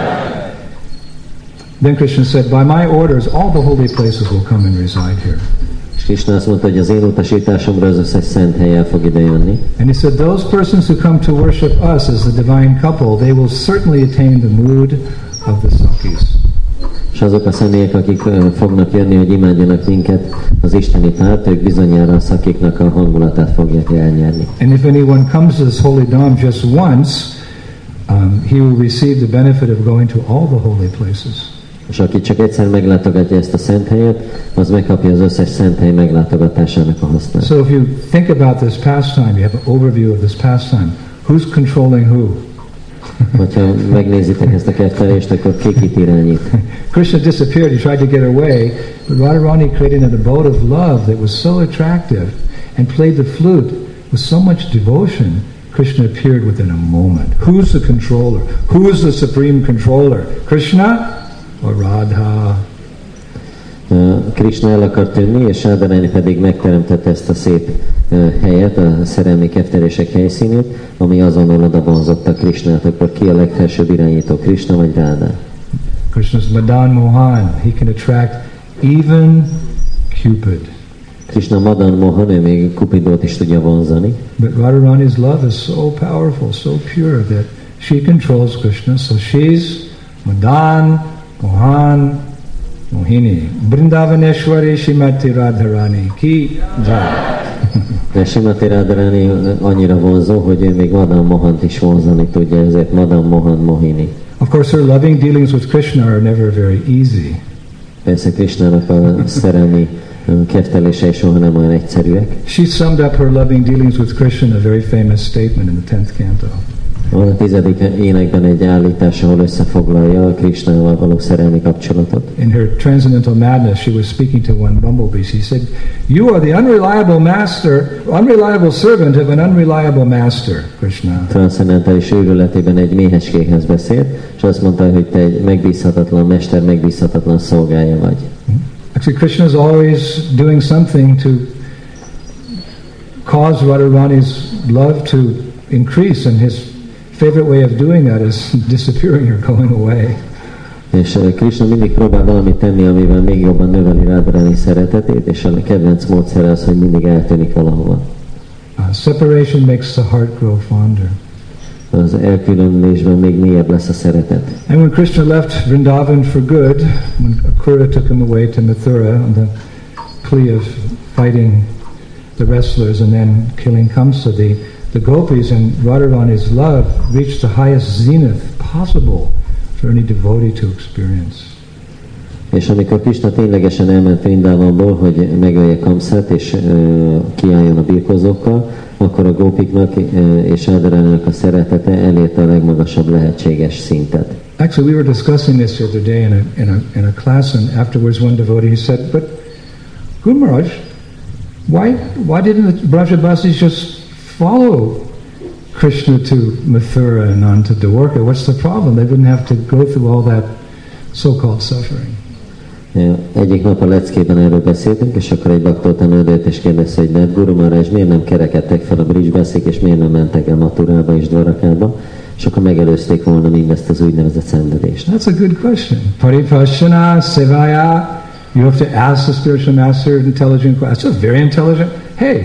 Then Krishna said, by my orders, all the holy places will come and reside here. És Krishna azt mondta, hogy az én utasításomra az összes szent hely el fog ide jönni. And he said, those persons who come to worship us as the divine couple, they will certainly attain the mood of the Sakis. És azok a személyek, akik fognak jönni, hogy imádjanak minket, az isteni párt, ők bizonyára a szakiknak a hangulatát fogják elnyerni. And if anyone comes to this holy dham just once, he will receive the benefit of going to all the holy places. És aki csak egyszer meglátogatja ezt a szent helyet, az megkapja az összes szent hely meglátogatásának a hasznát. So if you think about this pastime, you have an overview of this pastime. Who's controlling who? Hogyha megnézitek ezt a kettelést, akkor ki kit irányít. Krishna disappeared, he tried to get away, but Radharani created an abode of love that was so attractive and played the flute with so much devotion. Krishna appeared within a moment. Who's the controller? Who's the supreme controller? Krishna or Radha? Krishna el akar tűnni, és Radharani pedig megteremtette ezt a szép helyet, a szerelmi kettelések helyszínét, ami azonnal oda vonzotta Krishnát. Akkor ki a legfelsőbb irányító, Krishna vagy Radha? Krishna's Madan Mohan. He can attract even Cupid. Krishna Madan Mohan, ő még Cupidot is tudja vonzani. But Radharani's love is so powerful, so pure that she controls Krishna. So she's Madan Mohan Mohini. Vrindavaneshwari Shrimati Radharani Ki Jai. De Shrimati Radharani annyira vonzó, hogy ő még Madan Mohant is vonzani tudja, ezért Madan Mohan Mohini. Of course, her loving dealings with Krishna are never very easy. Persze Krishnának a szerelmi kettelései soha nem olyan egyszerűek. She summed up her loving dealings with Krishna in a very famous statement in the 10th canto. Van a 10. énekben egy állítás, ahol összefoglalja a Krishnával való szerelmi kapcsolatot. In her transcendental madness, she was speaking to one bumblebee. She said, "You are the unreliable servant of an unreliable master, Krishna." Transzendentális őrületében egy méhecskéhez beszélt, és azt mondta, hogy te egy megbízhatatlan mester, megbízhatatlan szolgája vagy. Actually, Krishna is always doing something to cause Radharani's love to increase, and his favorite way of doing that is disappearing or going away. És Krishna mindig próbál valamit tenni, amivel még jobban növeli Radharani szeretetét, és a kedvenc módszer az, hogy mindig eltűnik valahova. Separation makes the heart grow fonder. Az elkülönülésben még mélyebb lesz a szeretet. And when Krishna left Vrindavan for good, when Akrura took him away to Mathura on the plea of fighting the wrestlers and then killing Kamsa, the gopis and Radharani's love reached the highest zenith possible for any devotee to experience. És amikor Krishna ténylegesen elment Vrindavanból, hogy megölje Kamszát és kiálljon a birkózókkal, akkor a gópiknak és Radharaninak a szeretete elérte a legmagasabb lehetséges szintet. Actually, we were discussing this the other day in a class, and afterwards one devotee said, "But Guru Maharaj, why didn't the Brajabasis just follow Krishna to Mathura and on to Dwarka? What's the problem? They wouldn't have to go through all that so-called suffering." Egyik nap a leckében erről beszéltünk, és akkor egy baktótan ödött és kérdezte, hogy de Guru Maharaj, miért nem kerekedtek fel a Brijbaszik, és miért nem mentek el Maturába és Dwarakába, és akkor megelőzték volna mindezt az úgynevezett szenvedést. That's a good question. Paripashana sevaya. You have to ask the spiritual master intelligent questions. That's very intelligent. Hey,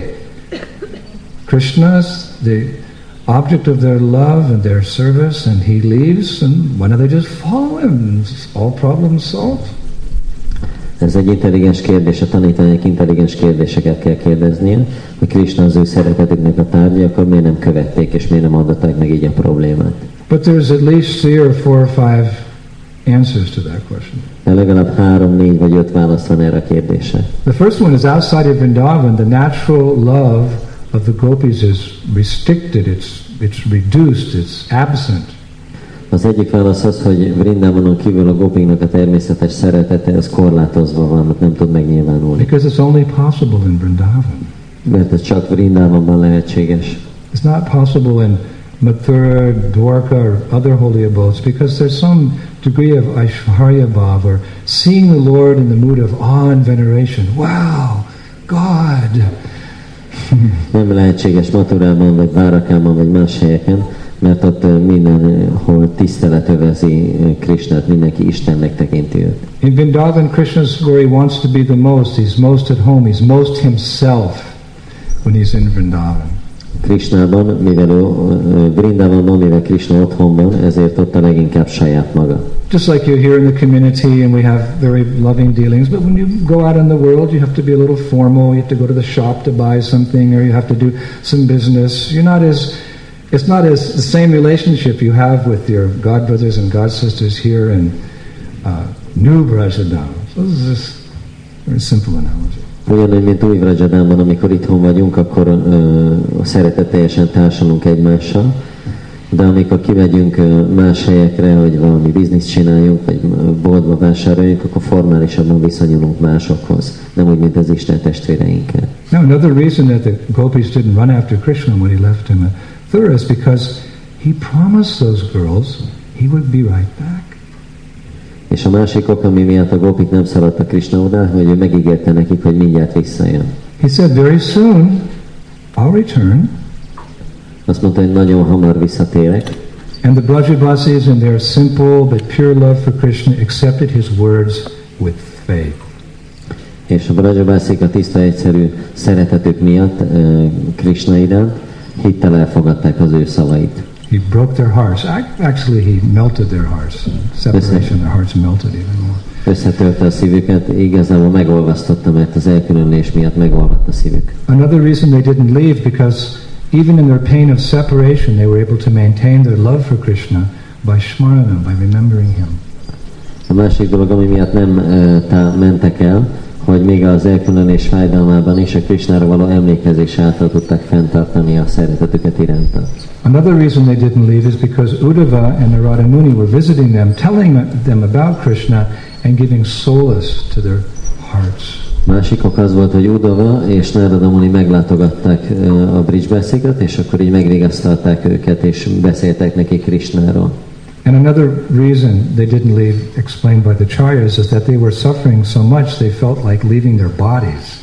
Krishna's the object of their love and their service, and he leaves, and why don't they just follow him? All problems solved. Ez egy intelligens kérdés, a tanítványok intelligens kérdéseket kell kérdeznie, hogy Krishna az ő szeretetüknek a tárgya, akkor miért nem követték, és miért nem adották meg így a problémát. But there's at least 3 or 4 or 5 answers to that question. De legalább 3, 4 vagy 5 válasz van erre a kérdésre. The first one is outside of Vrindavan, the natural love of the gopis is restricted, it's reduced, it's absent. Az egyik válasz az, hogy Vrindavanon kívül a gopiknak a természetes szeretete az korlátozva van, nem tud megnyilvánulni. Because it's only possible in Vrindavan. Mert ez csak Vrindavanban lehetséges. It's not possible in Mathura, Dwarka, or other holy abodes, because there's some degree of Aishvarya Bhav, or seeing the Lord in the mood of awe and veneration. Wow, God! Nem lehetséges Mathurában, vagy Dwarakában, vagy más helyeken, mert ott mindenhol tisztelet övezi Krishnát, mindenki Istennek tekinti őt. In Vrindavan, Krishna's where he wants to be the most. He's most at home. He's most himself when he's in Vrindavan. Krishnában, Vrindavanban, mivel Krishna otthon van, ezért ott a leginkább saját maga. Just like you're here in the community and we have very loving dealings, but when you go out in the world, you have to be a little formal. You have to go to the shop to buy something, or you have to do some business. It's not as the same relationship you have with your god brothers and god sisters here in New Brajadam. So this is just a very simple analogy. Ugyanúgy, mint új Vrajadamban, amikor itthon vagyunk, akkor szeretetteljesen társulunk egymással, de amikor kimegyünk más helyekre, hogy valami bizniszt csináljunk, vagy boltba vásároljunk, akkor formálisabban viszonyulunk másokhoz, nem úgy, mint az Isten testvéreinkkel. Now, another reason that the gopis didn't run after Krishna when he left him Mathura is because he promised those girls he would be right back. És a másik ok, ami miatt a gópik nem szaladtak Krishna oda, hogy ő megígérte nekik, hogy mindjárt visszajön. He said, very soon I'll return. Azt mondta, hogy nagyon hamar visszatérek. And the Brajabasis in their simple but pure love for Krishna accepted his words with faith. És a Brajabászik a tiszta egyszerű szeretetük miatt Krishna iránt hittel elfogadták az ő szavait. He broke their hearts. Actually, he melted their hearts. Separation, their hearts melted even more. Összetörte a szívüket, igazából megolvasztotta, mert az elkülönülés miatt megolvadt a szívük. Another reason they didn't leave, because even in their pain of separation, they were able to maintain their love for Krishna by smarana, by remembering him. A másik dolog, ami miatt nem mentek el, hogy még az elkülönülés fájdalmában is a Krishnára való emlékezés által tudták fenntartani a szeretetüket iránta. Another reason they didn't leave is because Uddhava and Narada Muni were visiting them, telling them about Krishna and giving solace to their hearts. Másik ok az volt, hogy Uddhava és Narada Muni meglátogatták a Brijbaszikat, és akkor így megvigasztalták őket, és beszéltek nekik Krishnáról. And another reason they didn't leave, explained by the Charyas, is that they were suffering so much they felt like leaving their bodies.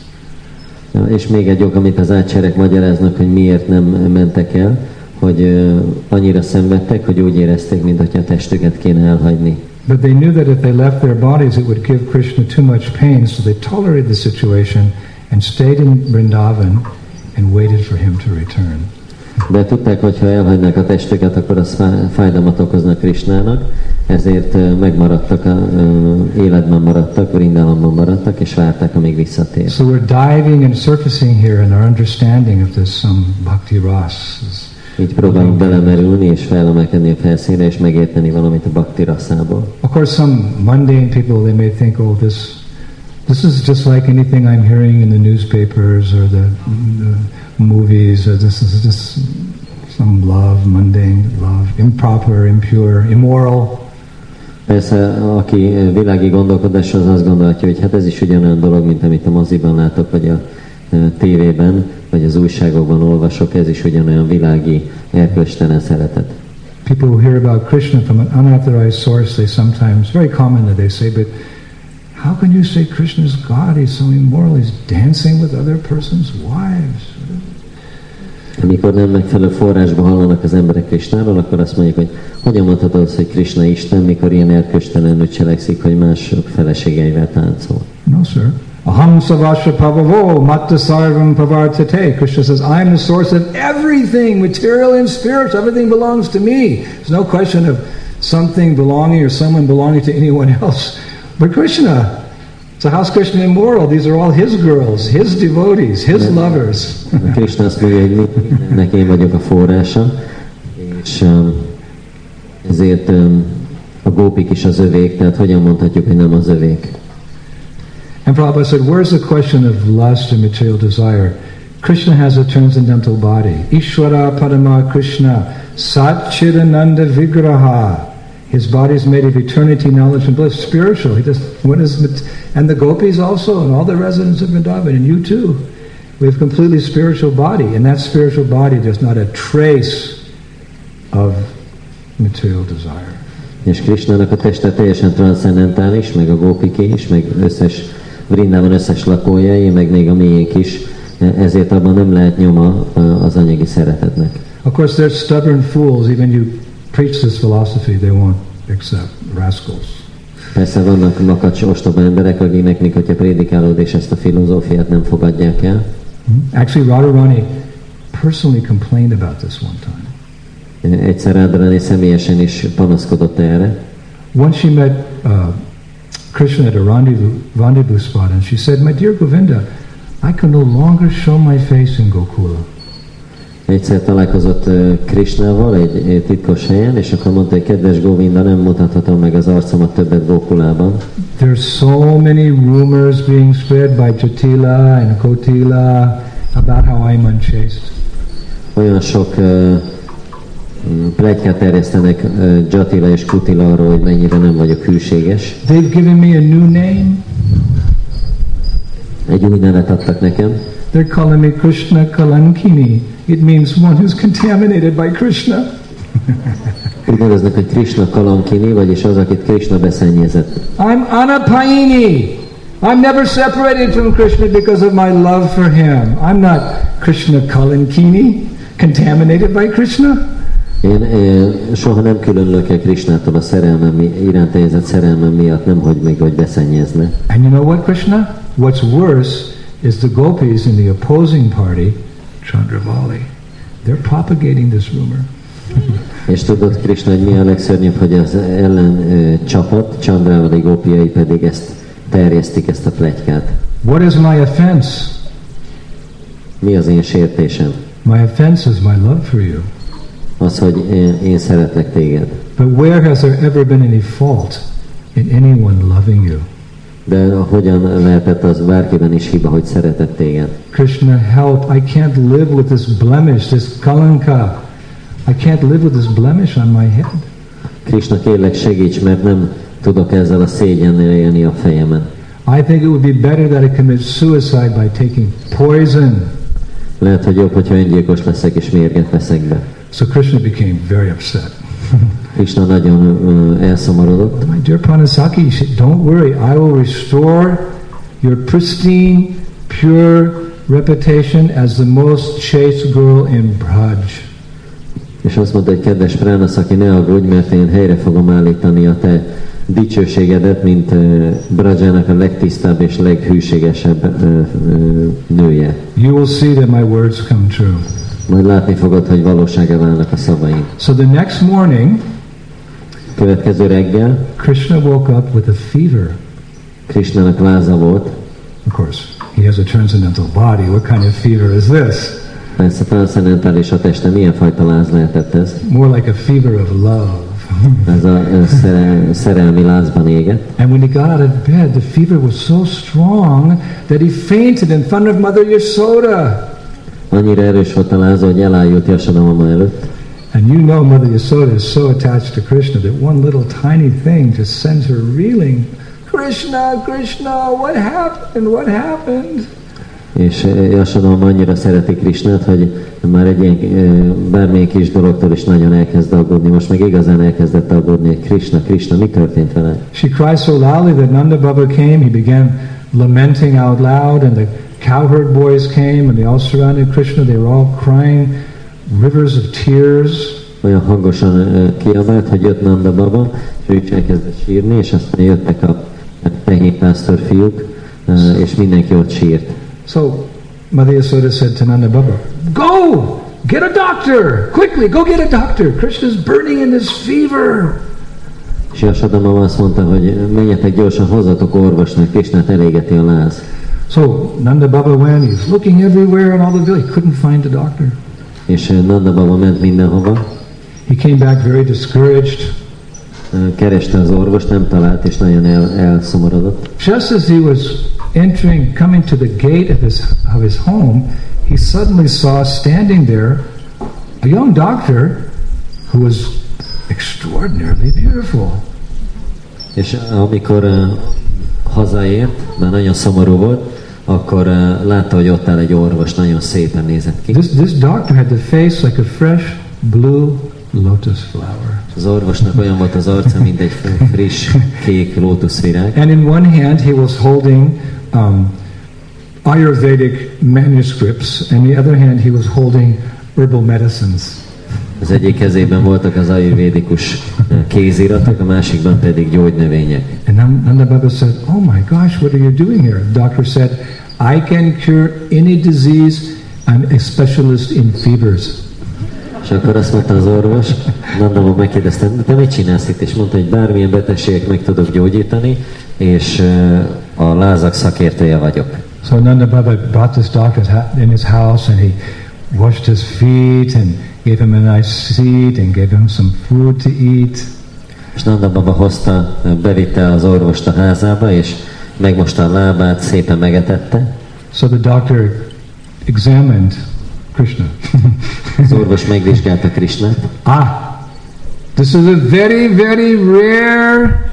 És még egy ok, amit az ácserek magyaráznak, hogy miért nem mentek el, hogy annyira szenvedtek, hogy úgy érezték, mintha a testüket kéne elhagyni. But they knew that if they left their bodies, it would give Krishna too much pain, so they tolerated the situation and stayed in Vrindavan and waited for him to return. De tudták, hogy ha elhagynák a testüket, akkor az fájdalmat okoznak Krishnának, ezért megmaradtak, életben maradtak, Vrindavanban maradtak, és várták, amíg visszatér. So we're diving and surfacing here in our understanding of this bhakti ras. Így próbálunk belemerülni és felemelkedni a felszínre, és megérteni valamit a bhakti raszából. Of course, some mundane people, they may think, oh, this is just like anything I'm hearing in the newspapers or the movies, or this is just some love, mundane love, improper, impure, immoral. Persze, aki világi gondolkodás, az azt gondolhatja, hogy hát ez is ugyanolyan dolog, mint amit a moziban látok, vagy a tévében, vagy az újságokban olvasok, ez is ugyanolyan világi, erkölcstelen szeretet. People who hear about Krishna from an unauthorized source, they sometimes, very commonly, they say, but how can you say Krishna is God? He's so immoral. He's dancing with other person's wives. Amikor nem megfelelő forrásba hallanak az emberek Krishnáról, akkor azt mondják, hogy hogyan mondhatod azt, hogy Krishna Isten, mikor ilyen erkölcstelenül cselekszik, hogy mások feleségeivel táncol. No, sir. Aham savasya pavavo matta sarvam pavartate. Krishna says, I'm the source of everything, material and spiritual. Everything belongs to me. There's no question of something belonging or someone belonging to anyone else. But Krishna, so how's Krishna immoral? These are all his girls, his devotees, his lovers. Krishna azt mondja, hogy mindennek én vagyok a forrása, és ezért a gópik is az övék, tehát hogyan mondhatjuk, hogy nem az övék? And Prabhupada said, where's the question of lust and material desire? Krishna has a transcendental body. Ishvara Padama Krishna Satchidananda Vigraha. His body is made of eternity, knowledge, and bliss, spiritual. And the gopis also, and all the residents of Vrindavan, and you too. We have a completely spiritual body, and that spiritual body, there's not a trace of material desire. És Krishnának a teste teljesen transzendentális, meg a gópiké is, meg összes Vrindában összes lakójai, meg még a miénk is, ezért abban nem lehet nyoma az anyagi szeretetnek. Of course, there's stubborn fools, even you preach this philosophy, they won't accept, rascals. Persze vannak makacs, ostoba emberek, akiknek még hogyha prédikálod és ezt a filozófiát nem fogadják el. Actually, Radharani personally complained about this one time. Egyszer Radharani személyesen is panaszkodott erre. Once she met Krishna at a rendezvous spot, and she said, "My dear Govinda, I can no longer show my face in Gokula." Egyszer találkozott Krishnával egy titkos helyen, és akkor mondta, hogy kedves Govinda, nem mutathatom meg az arcomat többet Gokulában. There's so many rumors being spread by Jatila and Kotila about how I'm unchaste. Olyan sok pletykát terjesztenek Jatila és Kutila arról, hogy mennyire nem vagyok hűséges. They've given me a new name. Egy új nevet adtak nekem. They're calling me Krishna Kalankini. It means one who's contaminated by Krishna. Úgy neveznek, hogy Krishna Kalankini, vagyis az, akit Krishna beszennyezett. I'm Anapayini. I'm never separated from Krishna because of my love for him. I'm not Krishna Kalankini, contaminated by Krishna. Én soha nem különülök el Krishnától a szerelmem iránt érzett szerelmem miatt, nem hogy még hogy beszennyezne. And you know what, Krishna? What's worse is the gopis in the opposing party, Chandravali. They're propagating this rumor. És tudod, Krishna, hogy mi a legszörnyűbb, hogy az ellen csapat, Chandravali gópiai pedig ezt terjesztik, ezt a pletykát. What is my offense? Mi az én sértésem? My offense is my love for you. Az, hogy én szeretlek téged. But where has there ever been any fault in anyone loving you? De hogyan lehetett az bárkiben is hiba, hogy szeretett téged? Krishna, help! I can't live with this blemish, this kalanka. I can't live with this blemish on my head. Krishna, kérlek, segíts, mert nem tudok ezzel a szégyennel élni a fejemen. I think it would be better that I commit suicide by taking poison. Lehet, hogy jobb, hogyha öngyilkos leszek és mérget veszek be. So Krishna became very upset. Krishna nagyon elszomorodott. My dear Pranasaki, don't worry, I will restore your pristine, pure reputation as the most chaste girl in Braj. És azt mondta, hogy kedves Pranasaki, ne aggódj, mert én helyre fogom állítani a te dicsőségedet, mint Brajának a legtisztább és leghűségesebb nője. You will see that my words come true. Majd látni fogod, hogy valósággá válnak a szavaim. So the next morning, következő reggel, Krishna woke up with a fever. Krishnának láza volt. Of course, he has a transcendental body. What kind of fever is this? Persze transzendentális a teste, milyen fajta láz lehetett ez? More like a fever of love. Ez a szerelmi lázban égett. And when he got out of bed, the fever was so strong that he fainted in front of Mother Yashoda. Annyira erős volt a láza, hogy elájult Jasodamama előtt. And you know Mother Yasoda is so attached to Krishna that one little tiny thing just sends her reeling. Krishna, Krishna, what happened? What happened? És Yasodhama annyira szereti Krishnát, hogy már egy ilyen bármilyen kis dologtól is nagyon elkezd aggódni. Most meg igazán elkezdett aggódni, hogy Krishna, Krishna, mi történt vele? She cried so loudly that Nanda Baba came. He began lamenting out loud, and the cowherd boys came, and they all surrounded Krishna. They were all crying rivers of tears. Olyan hangosan kiabált, hogy jött Nanda Baba, és ő is elkezdett sírni, és aztán jöttek a tehénpásztor fiúk, és mindenki ott sírt. So Mother Yasoda said to Nanda Baba, "Go! Get a doctor! Quickly, go get a doctor! Krishna's burning in this fever!" És Yasodhama azt mondta, hogy menjetek gyorsan, hozzatok orvosnak, Krishnát elégeti a láz. So Nanda Baba went, he's looking everywhere in all the village, he couldn't find a doctor. És Nanda Baba ment mindenhova. He came back very discouraged. Kereste az orvost, nem talált, és nagyon elszomorodott. Just as he was coming to the gate of his home, he suddenly saw standing there a young doctor who was extraordinarily beautiful. És amikor hazaért, már nagyon szomorú volt, akkor látta, hogy ott áll egy orvos, nagyon szépen nézett ki. This doctor had the face like a fresh blue lotus flower. Az orvosnak olyan volt az arca, mint egy friss, kék lótuszvirág. And in one hand he was holding Ayurvedic manuscripts, and the other hand he was holding herbal medicines. Az egyik kezében voltak az ayurvédikus kéziratok, a másikban pedig gyógynövények. And Nanda Baba said, "Oh my gosh, what are you doing here?" The doctor said, "I can cure any disease. I'm a specialist in fevers." És akkor azt mondta az orvos, Nanda Baba megkérdezte, te mit csinálsz itt? És mondta, hogy bármilyen betegséget meg tudok gyógyítani, és a lázak szakértője vagyok. So Nanda Baba brought this doctor in his house, and he washed his feet and gave him a nice seat and gave him some food to eat. És Nanda Baba hozta, bevitte az orvost a házába, és megmosta a lábát, szépen megetette. So the doctor examined Krishna. Az orvos megvizsgálta Krishnát. This is a very, very rare,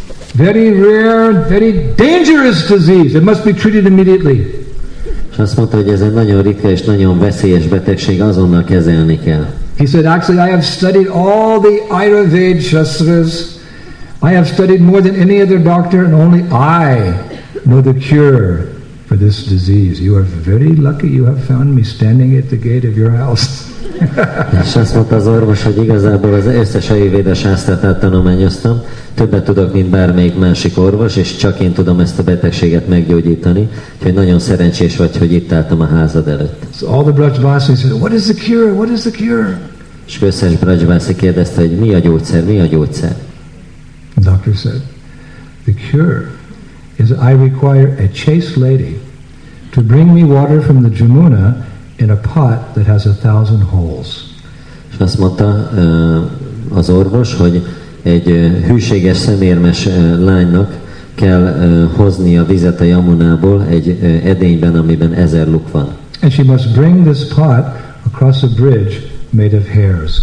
very dangerous disease. It must be treated immediately. És azt mondta, hogy ez egy nagyon ritka és nagyon veszélyes betegség, azonnal kezelni kell. He said, actually, I have studied all the Ayurveda Shastras. I have studied more than any other doctor, and only I know the cure for this disease. You are very lucky you have found me standing at the gate of your house. És azt mondta az orvos, hogy igazából az összes ayurvéda sásztrát áttanulmányoztam, többet tudok, mint bármelyik másik orvos, és csak én tudom ezt a betegséget meggyógyítani, úgyhogy nagyon szerencsés vagy, hogy itt álltam a házad előtt. So all the Brajvasis said, "What is the cure? What is the cure?" És összes Brajvasi kérdezte, hogy mi a gyógyszer, mi a gyógyszer? The doctor said, "The cure is I require a chaste lady to bring me water from the Jamuna in a pot that has 1,000 holes." És azt mondta az orvos, hogy egy hűséges, szemérmes lánynak kell hozni a vizet a Yamunából egy edényben, amiben 1000 luk van. And she must bring this pot across a bridge made of hairs.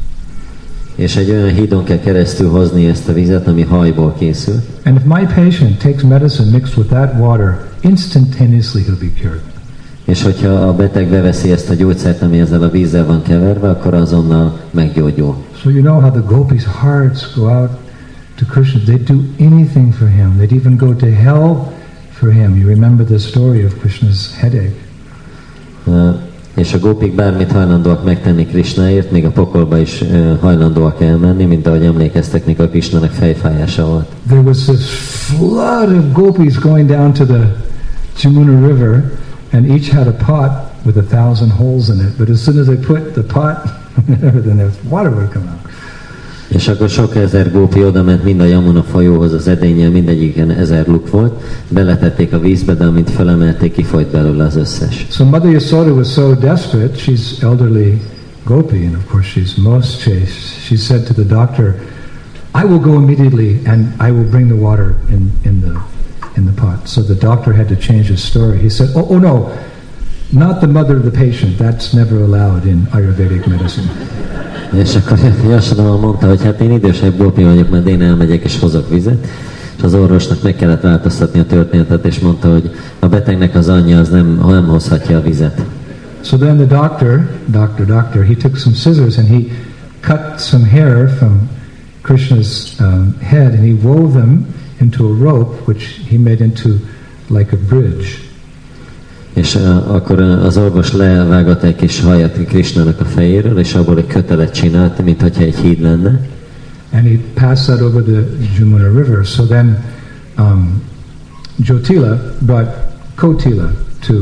És egy olyan hídon kell keresztül hozni ezt a vizet, ami hajból készül. And if my patient takes medicine mixed with that water, instantaneously he'll be cured. És hogyha a beteg beveszi ezt a gyógyszert, ami ezzel a vízzel van keverve, akkor azonnal meggyógyul. So you know how the gopis' hearts go out to Krishna. They do anything for him. They'd even go to hell for him. You remember the story of Krishna's headache. És a gópik bármit hajlandóak megtenni Krishnáért, még a pokolba is hajlandóak elmenni, mint ahogy emlékeztek, mikor Krishnának fejfájása volt. There was this flood of gopis going down to the Jamuna River, and each had a pot with 1,000 holes in it. But as soon as they put the pot, then the water would come out. És akkor sok ezer gópi oda ment mind a Yamuna folyóhoz az edénnyel, mindegyiken 1000 luk volt, beletették a vízbe, de amint felemelték, kifolyt belőle az összes. So Mother Yasoda was so desperate, she's elderly gopi, and of course she's most chaste. She said to the doctor, "I will go immediately and I will bring the water in the pot." So the doctor had to change his story. He said, oh no, Not the mother of the patient. That's never allowed in Ayurvedic medicine. És akkor Yasodhama mondta, hogy hát én idősebb gópi vagyok, mert én elmegyek és hozok vizet. És az orvosnak meg kellett változtatni a történetet, és mondta, hogy a betegnek az anyja az nem hozhatja a vizet. So then the doctor, he took some scissors and he cut some hair from Krishna's head and he wove them into a rope which he made into like a bridge. És akkor az orvos levágott egy kis hajat Krishnának a fejéről, és abból egy kötelet csinált, mintha egy híd lenne. And he passed that over the Jamuna River. So then Jotila brought Kotila to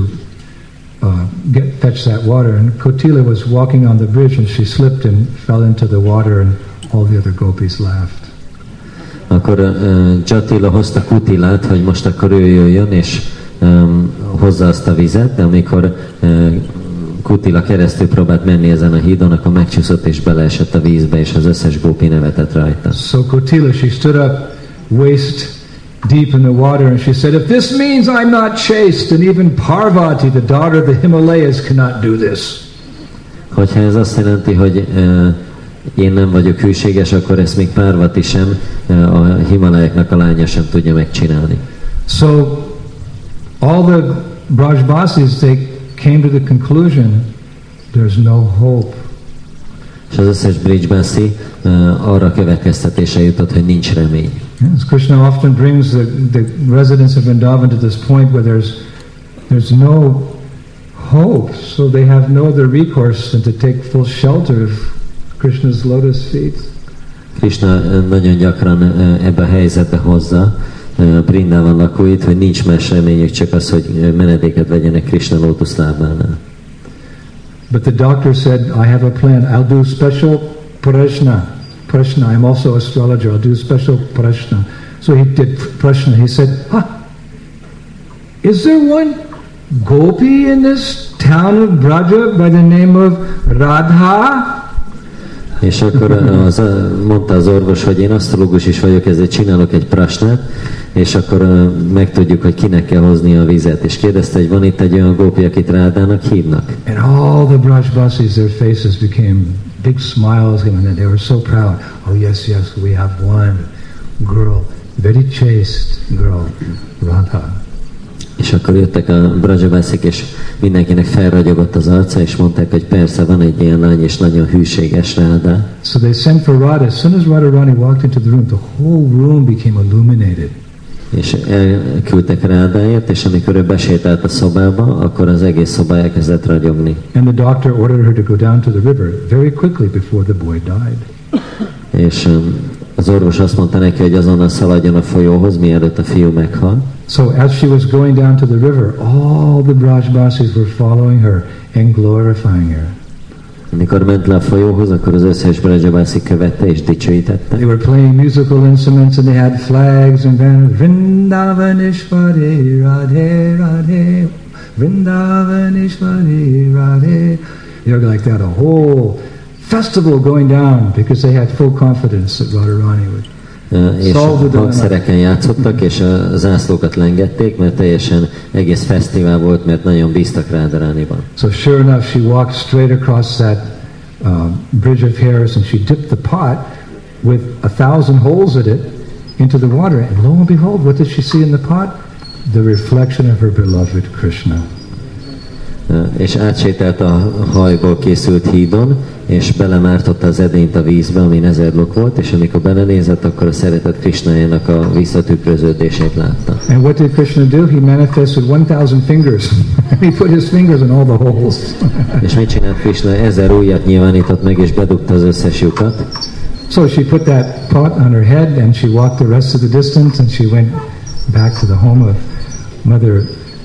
fetch that water. And Kotila was walking on the bridge and she slipped and fell into the water and all the other gopis laughed. Akkor Jotila hozta Kutilát, hogy most akkor ő jöjjön, és hozza azt a vizet, de amikor Kutila keresztül próbált menni ezen a hídon, akkor megcsúszott és beleesett a vízbe, és az összes gópi nevetett rajta. So Kotila, she stood up waist deep in the water and she said, if this means I'm not chaste, then even Parvati, the daughter of the Himalayas, cannot do this. Hogyha ez azt jelenti, hogy én nem vagyok hűséges, akkor ezt még Parvati sem, a Himalájaknak a lánya sem tudja megcsinálni. So all the Brajbasis, they came to the conclusion there's no hope. És az összes Brajbasi arra következtetése jutott, hogy nincs remény. Yes, Krishna often brings the residents of Vrindavan to this point where there's no hope, so they have no other recourse than to take full shelter of Krishna's lotus feet. Krishna nagyon gyakran ebbe a helyzetbe hozza Brindavan lakóit, hogy nincs más reményük, csak az, hogy menedéket vegyenek Krishna lótuszlábánál. But the doctor said, I have a plan. I'll do special prashna. I'm also astrologer. I'll do special prashna. So he did prashna. He said, is there one gopi in this town of Braja by the name of Radha? És akkor mondta az orvos, hogy én asztrológus is vagyok, ezért csinálok egy prasnát, és akkor megtudjuk, hogy kinek kell hozni a vizet. És kérdezte, hogy van itt egy olyan gópi, akit Rádának hívnak. And all the Brajbasis, their faces became big smiles, and they were so proud. Oh yes, we have one girl, very chaste girl, Radha. És akkor jöttek a Brajabászik, és mindenkinek felragyogott az arca, és mondták, hogy persze van egy ilyen lány, és nagyon hűséges Ráda. So they sent for Radha. As soon as Radharani walked into the room, the whole room became illuminated. És elküldtek Rádáért, és amikor ő besétált a szobába, akkor az egész szoba elkezdett ragyogni. And the doctor ordered her to go down to the river very quickly before the boy died. És az orvos azt mondta neki, hogy azonnal szaladjon a folyóhoz, mielőtt a fiú meghal. So as she was going down to the river, all the Brajbasis were following her and glorifying her. Amikor ment le a folyóhoz, akkor az összes Brajabasi követte és dicsőítette. They were playing musical instruments and they had flags and banners. Vrindavaneshwari Radhe Radhe, Vrindavaneshwari Radhe. You know, like that, a whole festival going down because they had full confidence that Radharani would. És a hangszereken játszottak, és a zászlókat lengették, mert teljesen egész fesztivál volt, mert nagyon bíztak Radharaniban. So sure enough, she walked straight across that bridge of hairs, and she dipped the pot with 1,000 holes in it into the water, and lo and behold, what did she see in the pot? The reflection of her beloved Krishna. És átsétált a hajból készült hídon, és belemártotta az edényt a vízbe, ami 1000 lok volt, és amikor belenézett, akkor a szeretett Krishnájának a visszatükröződését látta. And what did Krishna do? He manifested 1,000 fingers. He put his fingers in all the holes. És mit csinált Krishna? 1000 ujjat nyilvánított meg, és bedugta az összes lyukat. So she put that pot on her head, and she walked the rest of the distance, and she went back to the home of Mother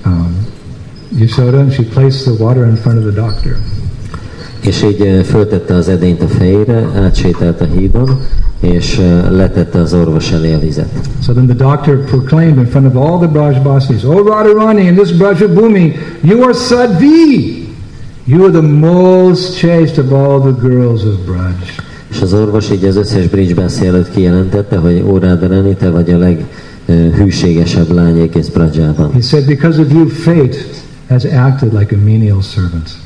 Yashoda, and she placed the water in front of the doctor. És így föltette az edényt a fejére, átsétált a hídon, és letette az orvos elé a vizet. So then the doctor proclaimed in front of all the Brajbasis, "O Radharani, in this Brajabhumi, you are Sadhvi. You are the most chaste of all the girls of Braj." És az orvos így az összes Brajbasi előtt kijelentette, hogy ó Radharani, te vagy a leghűségesebb lány egész Brajában. He said, because of you, fate has acted like a menial servant.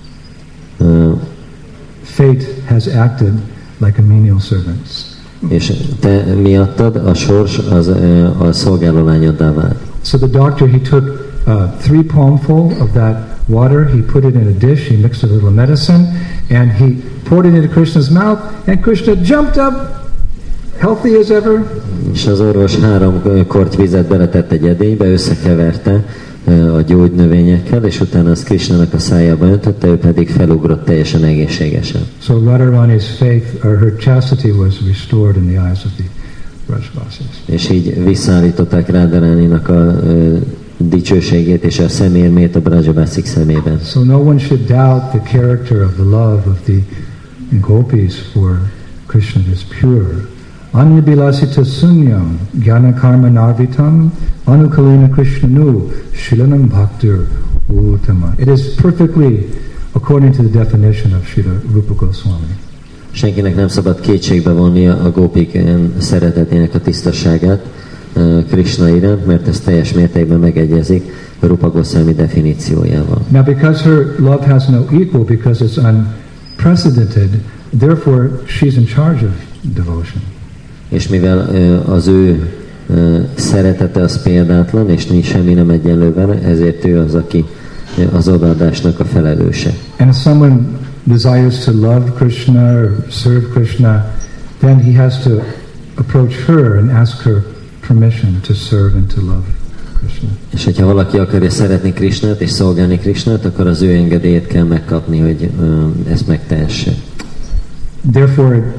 Fate has acted like a menial servant. És te miattad a sors az a szolgáló lányoddá vált. So the doctor, he took 3 palmful of that water, he put it in a dish, he mixed a little medicine, and he poured it into Krishna's mouth, and Krishna jumped up, healthy as ever. És az orvos 3 korty vizet beletett egy edénybe, összekeverte a gyógynövényekkel, és utána azt Krishnának a szájába öntötte, ő pedig felugrott teljesen egészségesen. So Radharani's faith, or her chastity, was restored in the eyes of the Brajvasis. És így visszaállították Radharaninak a dicsőségét és a szemérmét a Brajabászik szemében. So no one should doubt the character of the love of the gopis for Krishna is pure. Anyabilasita sunyam jnana karma narvitam anukalina krishnanu shilanam bhaktir uttama. It is perfectly according to the definition of Srila Rupa Goswami. Senkinek nem szabad kétségbe vonnia a gópik szeretetének a tisztaságát Krishna iránt, mert ez teljes mértékben megegyezik a Rupa Goswami definíciójával. Now because her love has no equal, because it's unprecedented, therefore she's in charge of devotion. És mivel az ő szeretete az példátlan, és nincs semmi nem egyenlő vele, ezért ő az, aki az odaadásnak a felelőse. And if someone desires to love Krishna or serve Krishna, then he has to approach her and ask her permission to serve and to love Krishna. És hogyha valaki akarja szeretni Krishnát és szolgálni Krishnát, akkor az ő engedélyét kell megkapni, hogy ezt megtehesse. Therefore,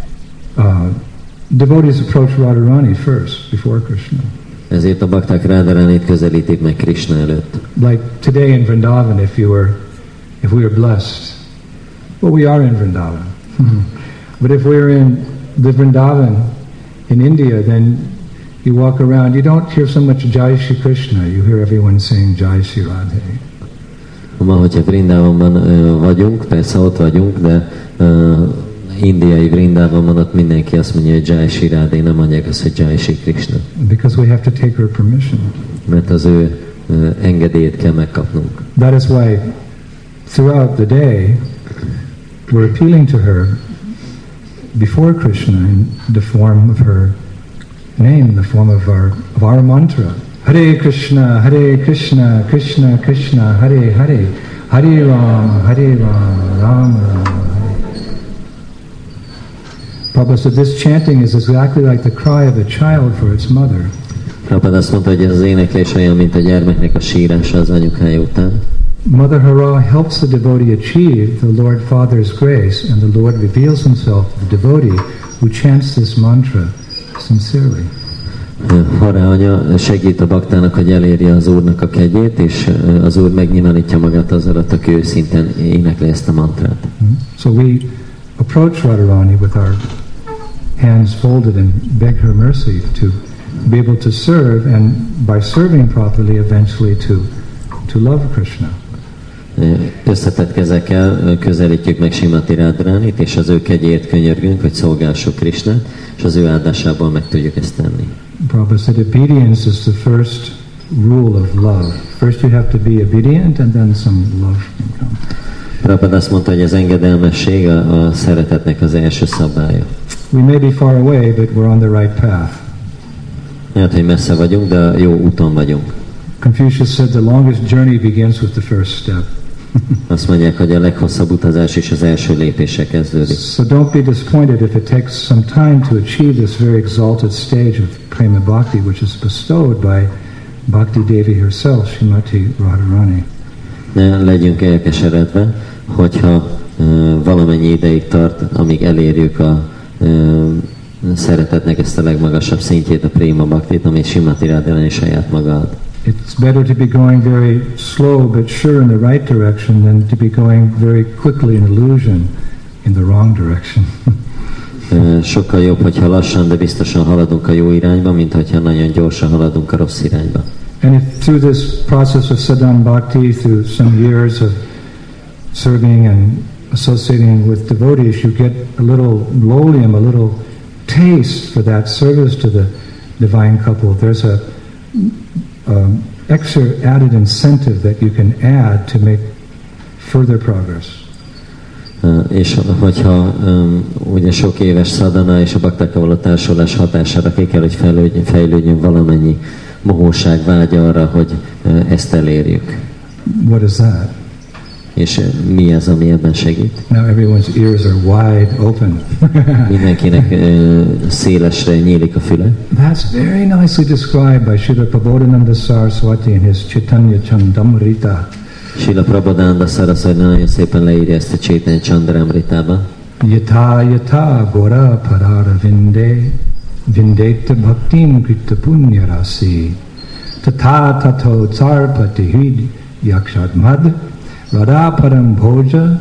devotees approach Radharani first, before Krishna. Ezért a bakták Radharanit közelítik meg Krishna előtt. Like today in Vrindavan, if we were blessed, well, we are in Vrindavan. But if we were in the Vrindavan in India, then you walk around, you don't hear so much Jai Shri Krishna, you hear everyone saying Jai Shri Radhe. Ma, hogyha Vrindavanban vagyunk, persze ott vagyunk, de indiai Vrindavanban ott mindenki azt mondja, hogy Jai Shri Radhe, nem mondják azt, hogy Jai Shri Krishna. Because we have to take her permission. Mert az ő engedélyét kell megkapnunk. That is why throughout the day we're appealing to her before Krishna in the form of her name, in the form of our mantra. Hare Krishna, Krishna Krishna, Hare Hare, Hare Ram, Ram Ram. Prabhupada said this chanting is exactly like the cry of a child for its mother. Prabhupada azt mondta, hogy ez az éneklés olyan, mint a gyermeknek a sírása az anyukája után. Mother Hara helps the devotee achieve the Lord Father's grace, and the Lord reveals himself to the devotee who chants this mantra sincerely. Hara anya segít a baktának, hogy elérje az Úrnak a kegyét, és az Úr megnyilvánítja magát az alatt, aki őszintén énekli ezt a mantrát. So we approach Radharani with our hands folded and beg her mercy to be able to serve, and by serving properly, eventually to love Krishna. Összetett kezekkel közelítjük meg Srimati Radharanit, és az ő kegyét könyörgünk, hogy szolgálsuk Krishnát, és az ő áldásából meg tudjuk ezt tenni. Prabhupada said obedience is the first rule of love. First you have to be obedient, and then some love can come. Prabhupada azt mondta, hogy az engedelmesség a szeretetnek az első szabálya. We may be far away, but we're on the right path. Lehet, hogy messze vagyunk, de jó úton vagyunk. Confucius said the longest journey begins with the first step. Azt mondják, hogy a leghosszabb utazás is az első lépése kezdődik. So don't be disappointed if it takes some time to achieve this very exalted stage of prema bhakti, which is bestowed by Bhakti Devi herself, Srimati Radharani. Ne legyünk elkeseredve, hogyha valamennyi ideig tart, amíg elérjük a szeretetnek ezt a legmagasabb szintjét, a prema bhaktit, amit Srimati Radharani saját maga ad. It's better to be going very slow but sure in the right direction than to be going very quickly in illusion in the wrong direction. Sokkal jobb, hogyha lassan, de biztosan haladunk a jó irányba, mint hogyha nagyon gyorsan haladunk a rossz irányba. And if through this process of sadhan bhakti, through some years of serving and associating with devotees, you get a little lolium, a little taste for that service to the divine couple. There's extra added incentive that you can add to make further progress. És hogyha ugye sok éves szadana és a baktákkal való társulás hatására ki kell, hogy fejlődjön valamennyi mohóság vágya arra, hogy ezt elérjük. What is that? És mi az, ami ebben segít? Now everyone's ears are wide open. Mindenkinek szélesre nyílik a füle. That's very nicely described by Srila Prabodhananda Saraswati in his Chaitanya Chandamrita. Srila Prabodhananda Saraswati nagyon szépen leírja ezt a Chaitanya Chandamritában. Yata yata gora parara vindeta bhaktim krita punya rasi tatha tatho tsarpati hid yakshad mad Radhaparam Bhoja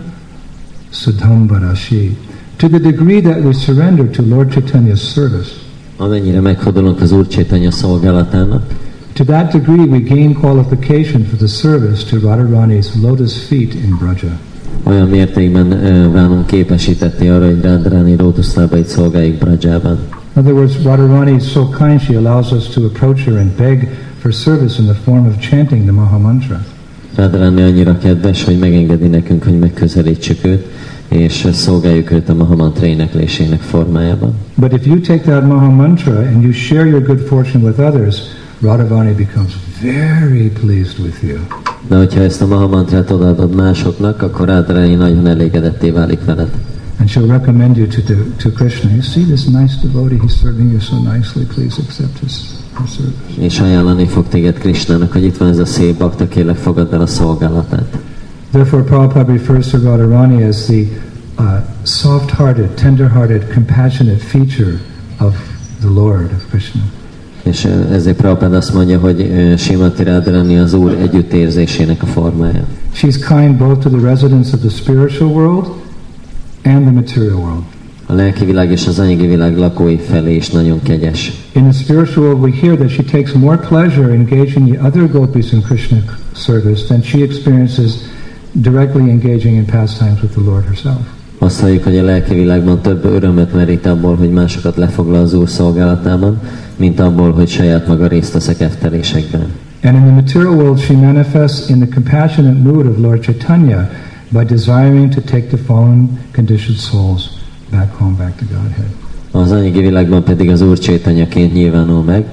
Sudhambarashi. To the degree that we surrender to Lord Chaitanya's service, amennyire meghódolunk az Úr Chaitanya szolgálatának, to that degree we gain qualification for the service to Radharani's lotus feet in Braja. Olyan mértékben válunk képesítetté arra, hogy Radharani lótuszlábait szolgáljuk Brajában. In other words, Radharani is so kind she allows us to approach her and beg for service in the form of chanting the Maha Mantra. Radharani annyira kedves, hogy megengedi nekünk, hogy megközelítsük őt, és szolgáljuk őt a Maha Mantra éneklésének formájában. But if you take that Maha Mantra and you share your good fortune with others, Radharani becomes very pleased with you. De hogyha ezt a Maha Mantrát odaadod másoknak, akkor Radharani nagyon elégedetté válik veled. And she'll recommend you to Krishna. You see this nice devotee, he's serving you so nicely, please accept his service. És ajánlani fog téged Krishnának, hogy itt van ez a szép bakta, kérlek fogadd el a szolgálatát. Therefore Prabhupada refers to Radharani as the soft-hearted, tender-hearted, compassionate feature of the Lord, of Krishna. És ezért Prabhupada azt mondja, hogy Srimati Radharani az Úr együttérzésének a formája. She's kind both to the residents of the spiritual world and the material world. A lelki világ és az anyagi világ lakói felé is nagyon kegyes. In the spiritual world, we hear that she takes more pleasure in engaging the other gopis in Krishna service than she experiences directly engaging in pastimes with the Lord herself. Azt halljuk, hogy a lelki világban több örömet merít abból, hogy másokat lefoglal az Úr szolgálatában, mint abból, hogy saját maga részt vesz a keftelésekben. And in the material world, she manifests in the compassionate mood of Lord Chaitanya by desiring to take the fallen conditioned souls back home, back to Godhead. Az anyagi világban pedig az Úr Chaitanyaként nyilvánul meg,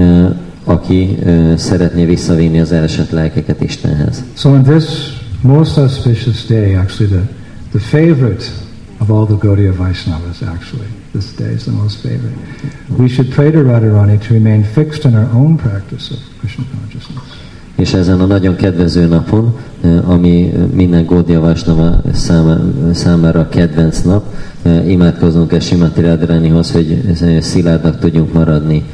aki szeretné visszavinni az elesett lelkeket Istenhez. So on this most auspicious day, actually the favorite of all the Gaudiya Vaishnavas, actually, this day is the most favorite. We should pray to Radharani to remain fixed in our own practice of Krishna consciousness. És ezen a nagyon kedvező napon, ami minden Gaudiya Vaishnava számára kedvenc nap, imádkozunk és Srimati Radharanihoz, hogy szilárdak tudjunk maradni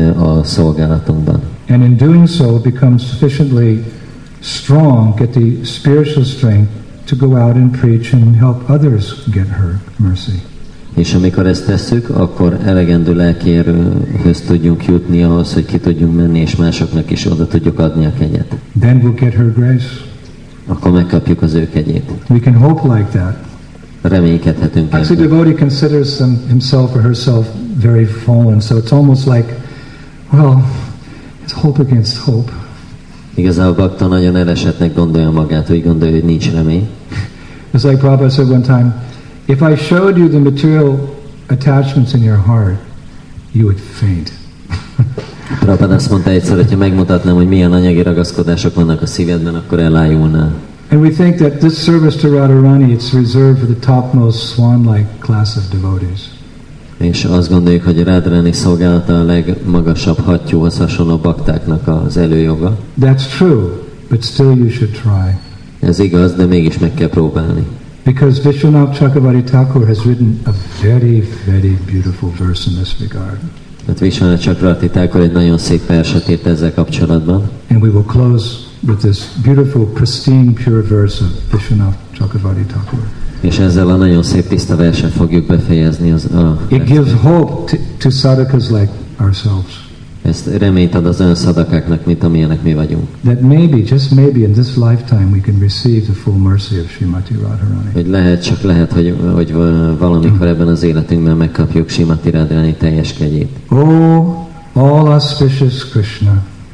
a szolgálatunkban. And in doing so, become sufficiently strong, get the spiritual strength to go out and preach and help others get her mercy. És amikor ezt tesszük, akkor elegendő lelki erőhöz tudjunk jutni ahhoz, hogy ki tudjunk menni, és másoknak is oda tudjuk adni a kegyet. Then we'll get her grace. Akkor megkapjuk az ő kegyét. We can hope like that. Reménykedhetünk Actually, ebben. devotee considers himself or herself very fallen, so it's almost like, well, it's hope against hope. Igazából bakta nagyon elesettnek gondolja magát, úgy gondolja, hogy nincs remény. It's like Prabhupada said one time, if I showed you the material attachments in your heart, you would faint. Prabhupada azt mondta egyszer, hogyha megmutatnám, hogy milyen anyagi ragaszkodások vannak a szívedben, akkor elájulnál. And we think that this service to Radharani, it's reserved for the topmost swan-like class of devotees. És azt gondoljuk, hogy a Radharani szolgálata a legmagasabb hattyúhoz hasonló baktáknak az előjoga. That's true, but still you should try. Ez igaz, de mégis meg kell próbálni. Because Vishwanath Chakravarti Thakur has written a very, very beautiful verse in this regard. Hát Vishwanath Chakravarti Thakur egy nagyon szép verset írt ezzel kapcsolatban. And we will close with this beautiful, pristine, pure verse of Vishwanath Chakravarti Thakur. És ezzel a nagyon szép tiszta verset fogjuk befejezni. It gives hope to sadhakas like ourselves. Ezt reményt ad az olyan szadakáknak, mint amilyenek mi vagyunk. That maybe, just maybe in this lifetime we can receive the full mercy of Srimati Radharani. Hogy lehet, hogy valamikor ebben az életünkben megkapjuk Srimati Radharani teljes kegyét. Oh, all auspicious Krishna.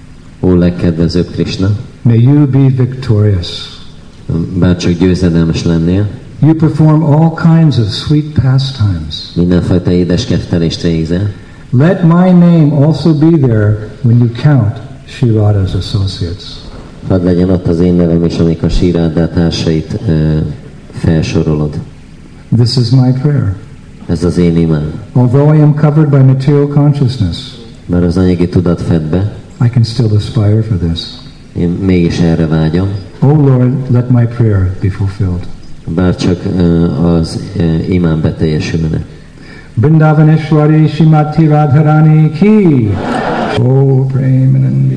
Ó legkedvezőbb Krishna, may you be victorious. bár csak győzedelmes lennél, You perform all kinds of sweet pastimes. mindenfajta édes kettelést végzel. Let my name also be there when you count Sri Radha's associates. Hadd legyen ott az én nevem is, amikor Sri Radha társait felsorolod. This is my prayer. Ez az én imám. Although I am covered by material consciousness, Bár az anyagi tudat fed be, I can still aspire for this. én mégis erre vágyom. Oh Lord, let my prayer be fulfilled. Bár csak az imám beteljesülne. Vrindavaneshwari Shrimati Radharani ki. Oh Premanandi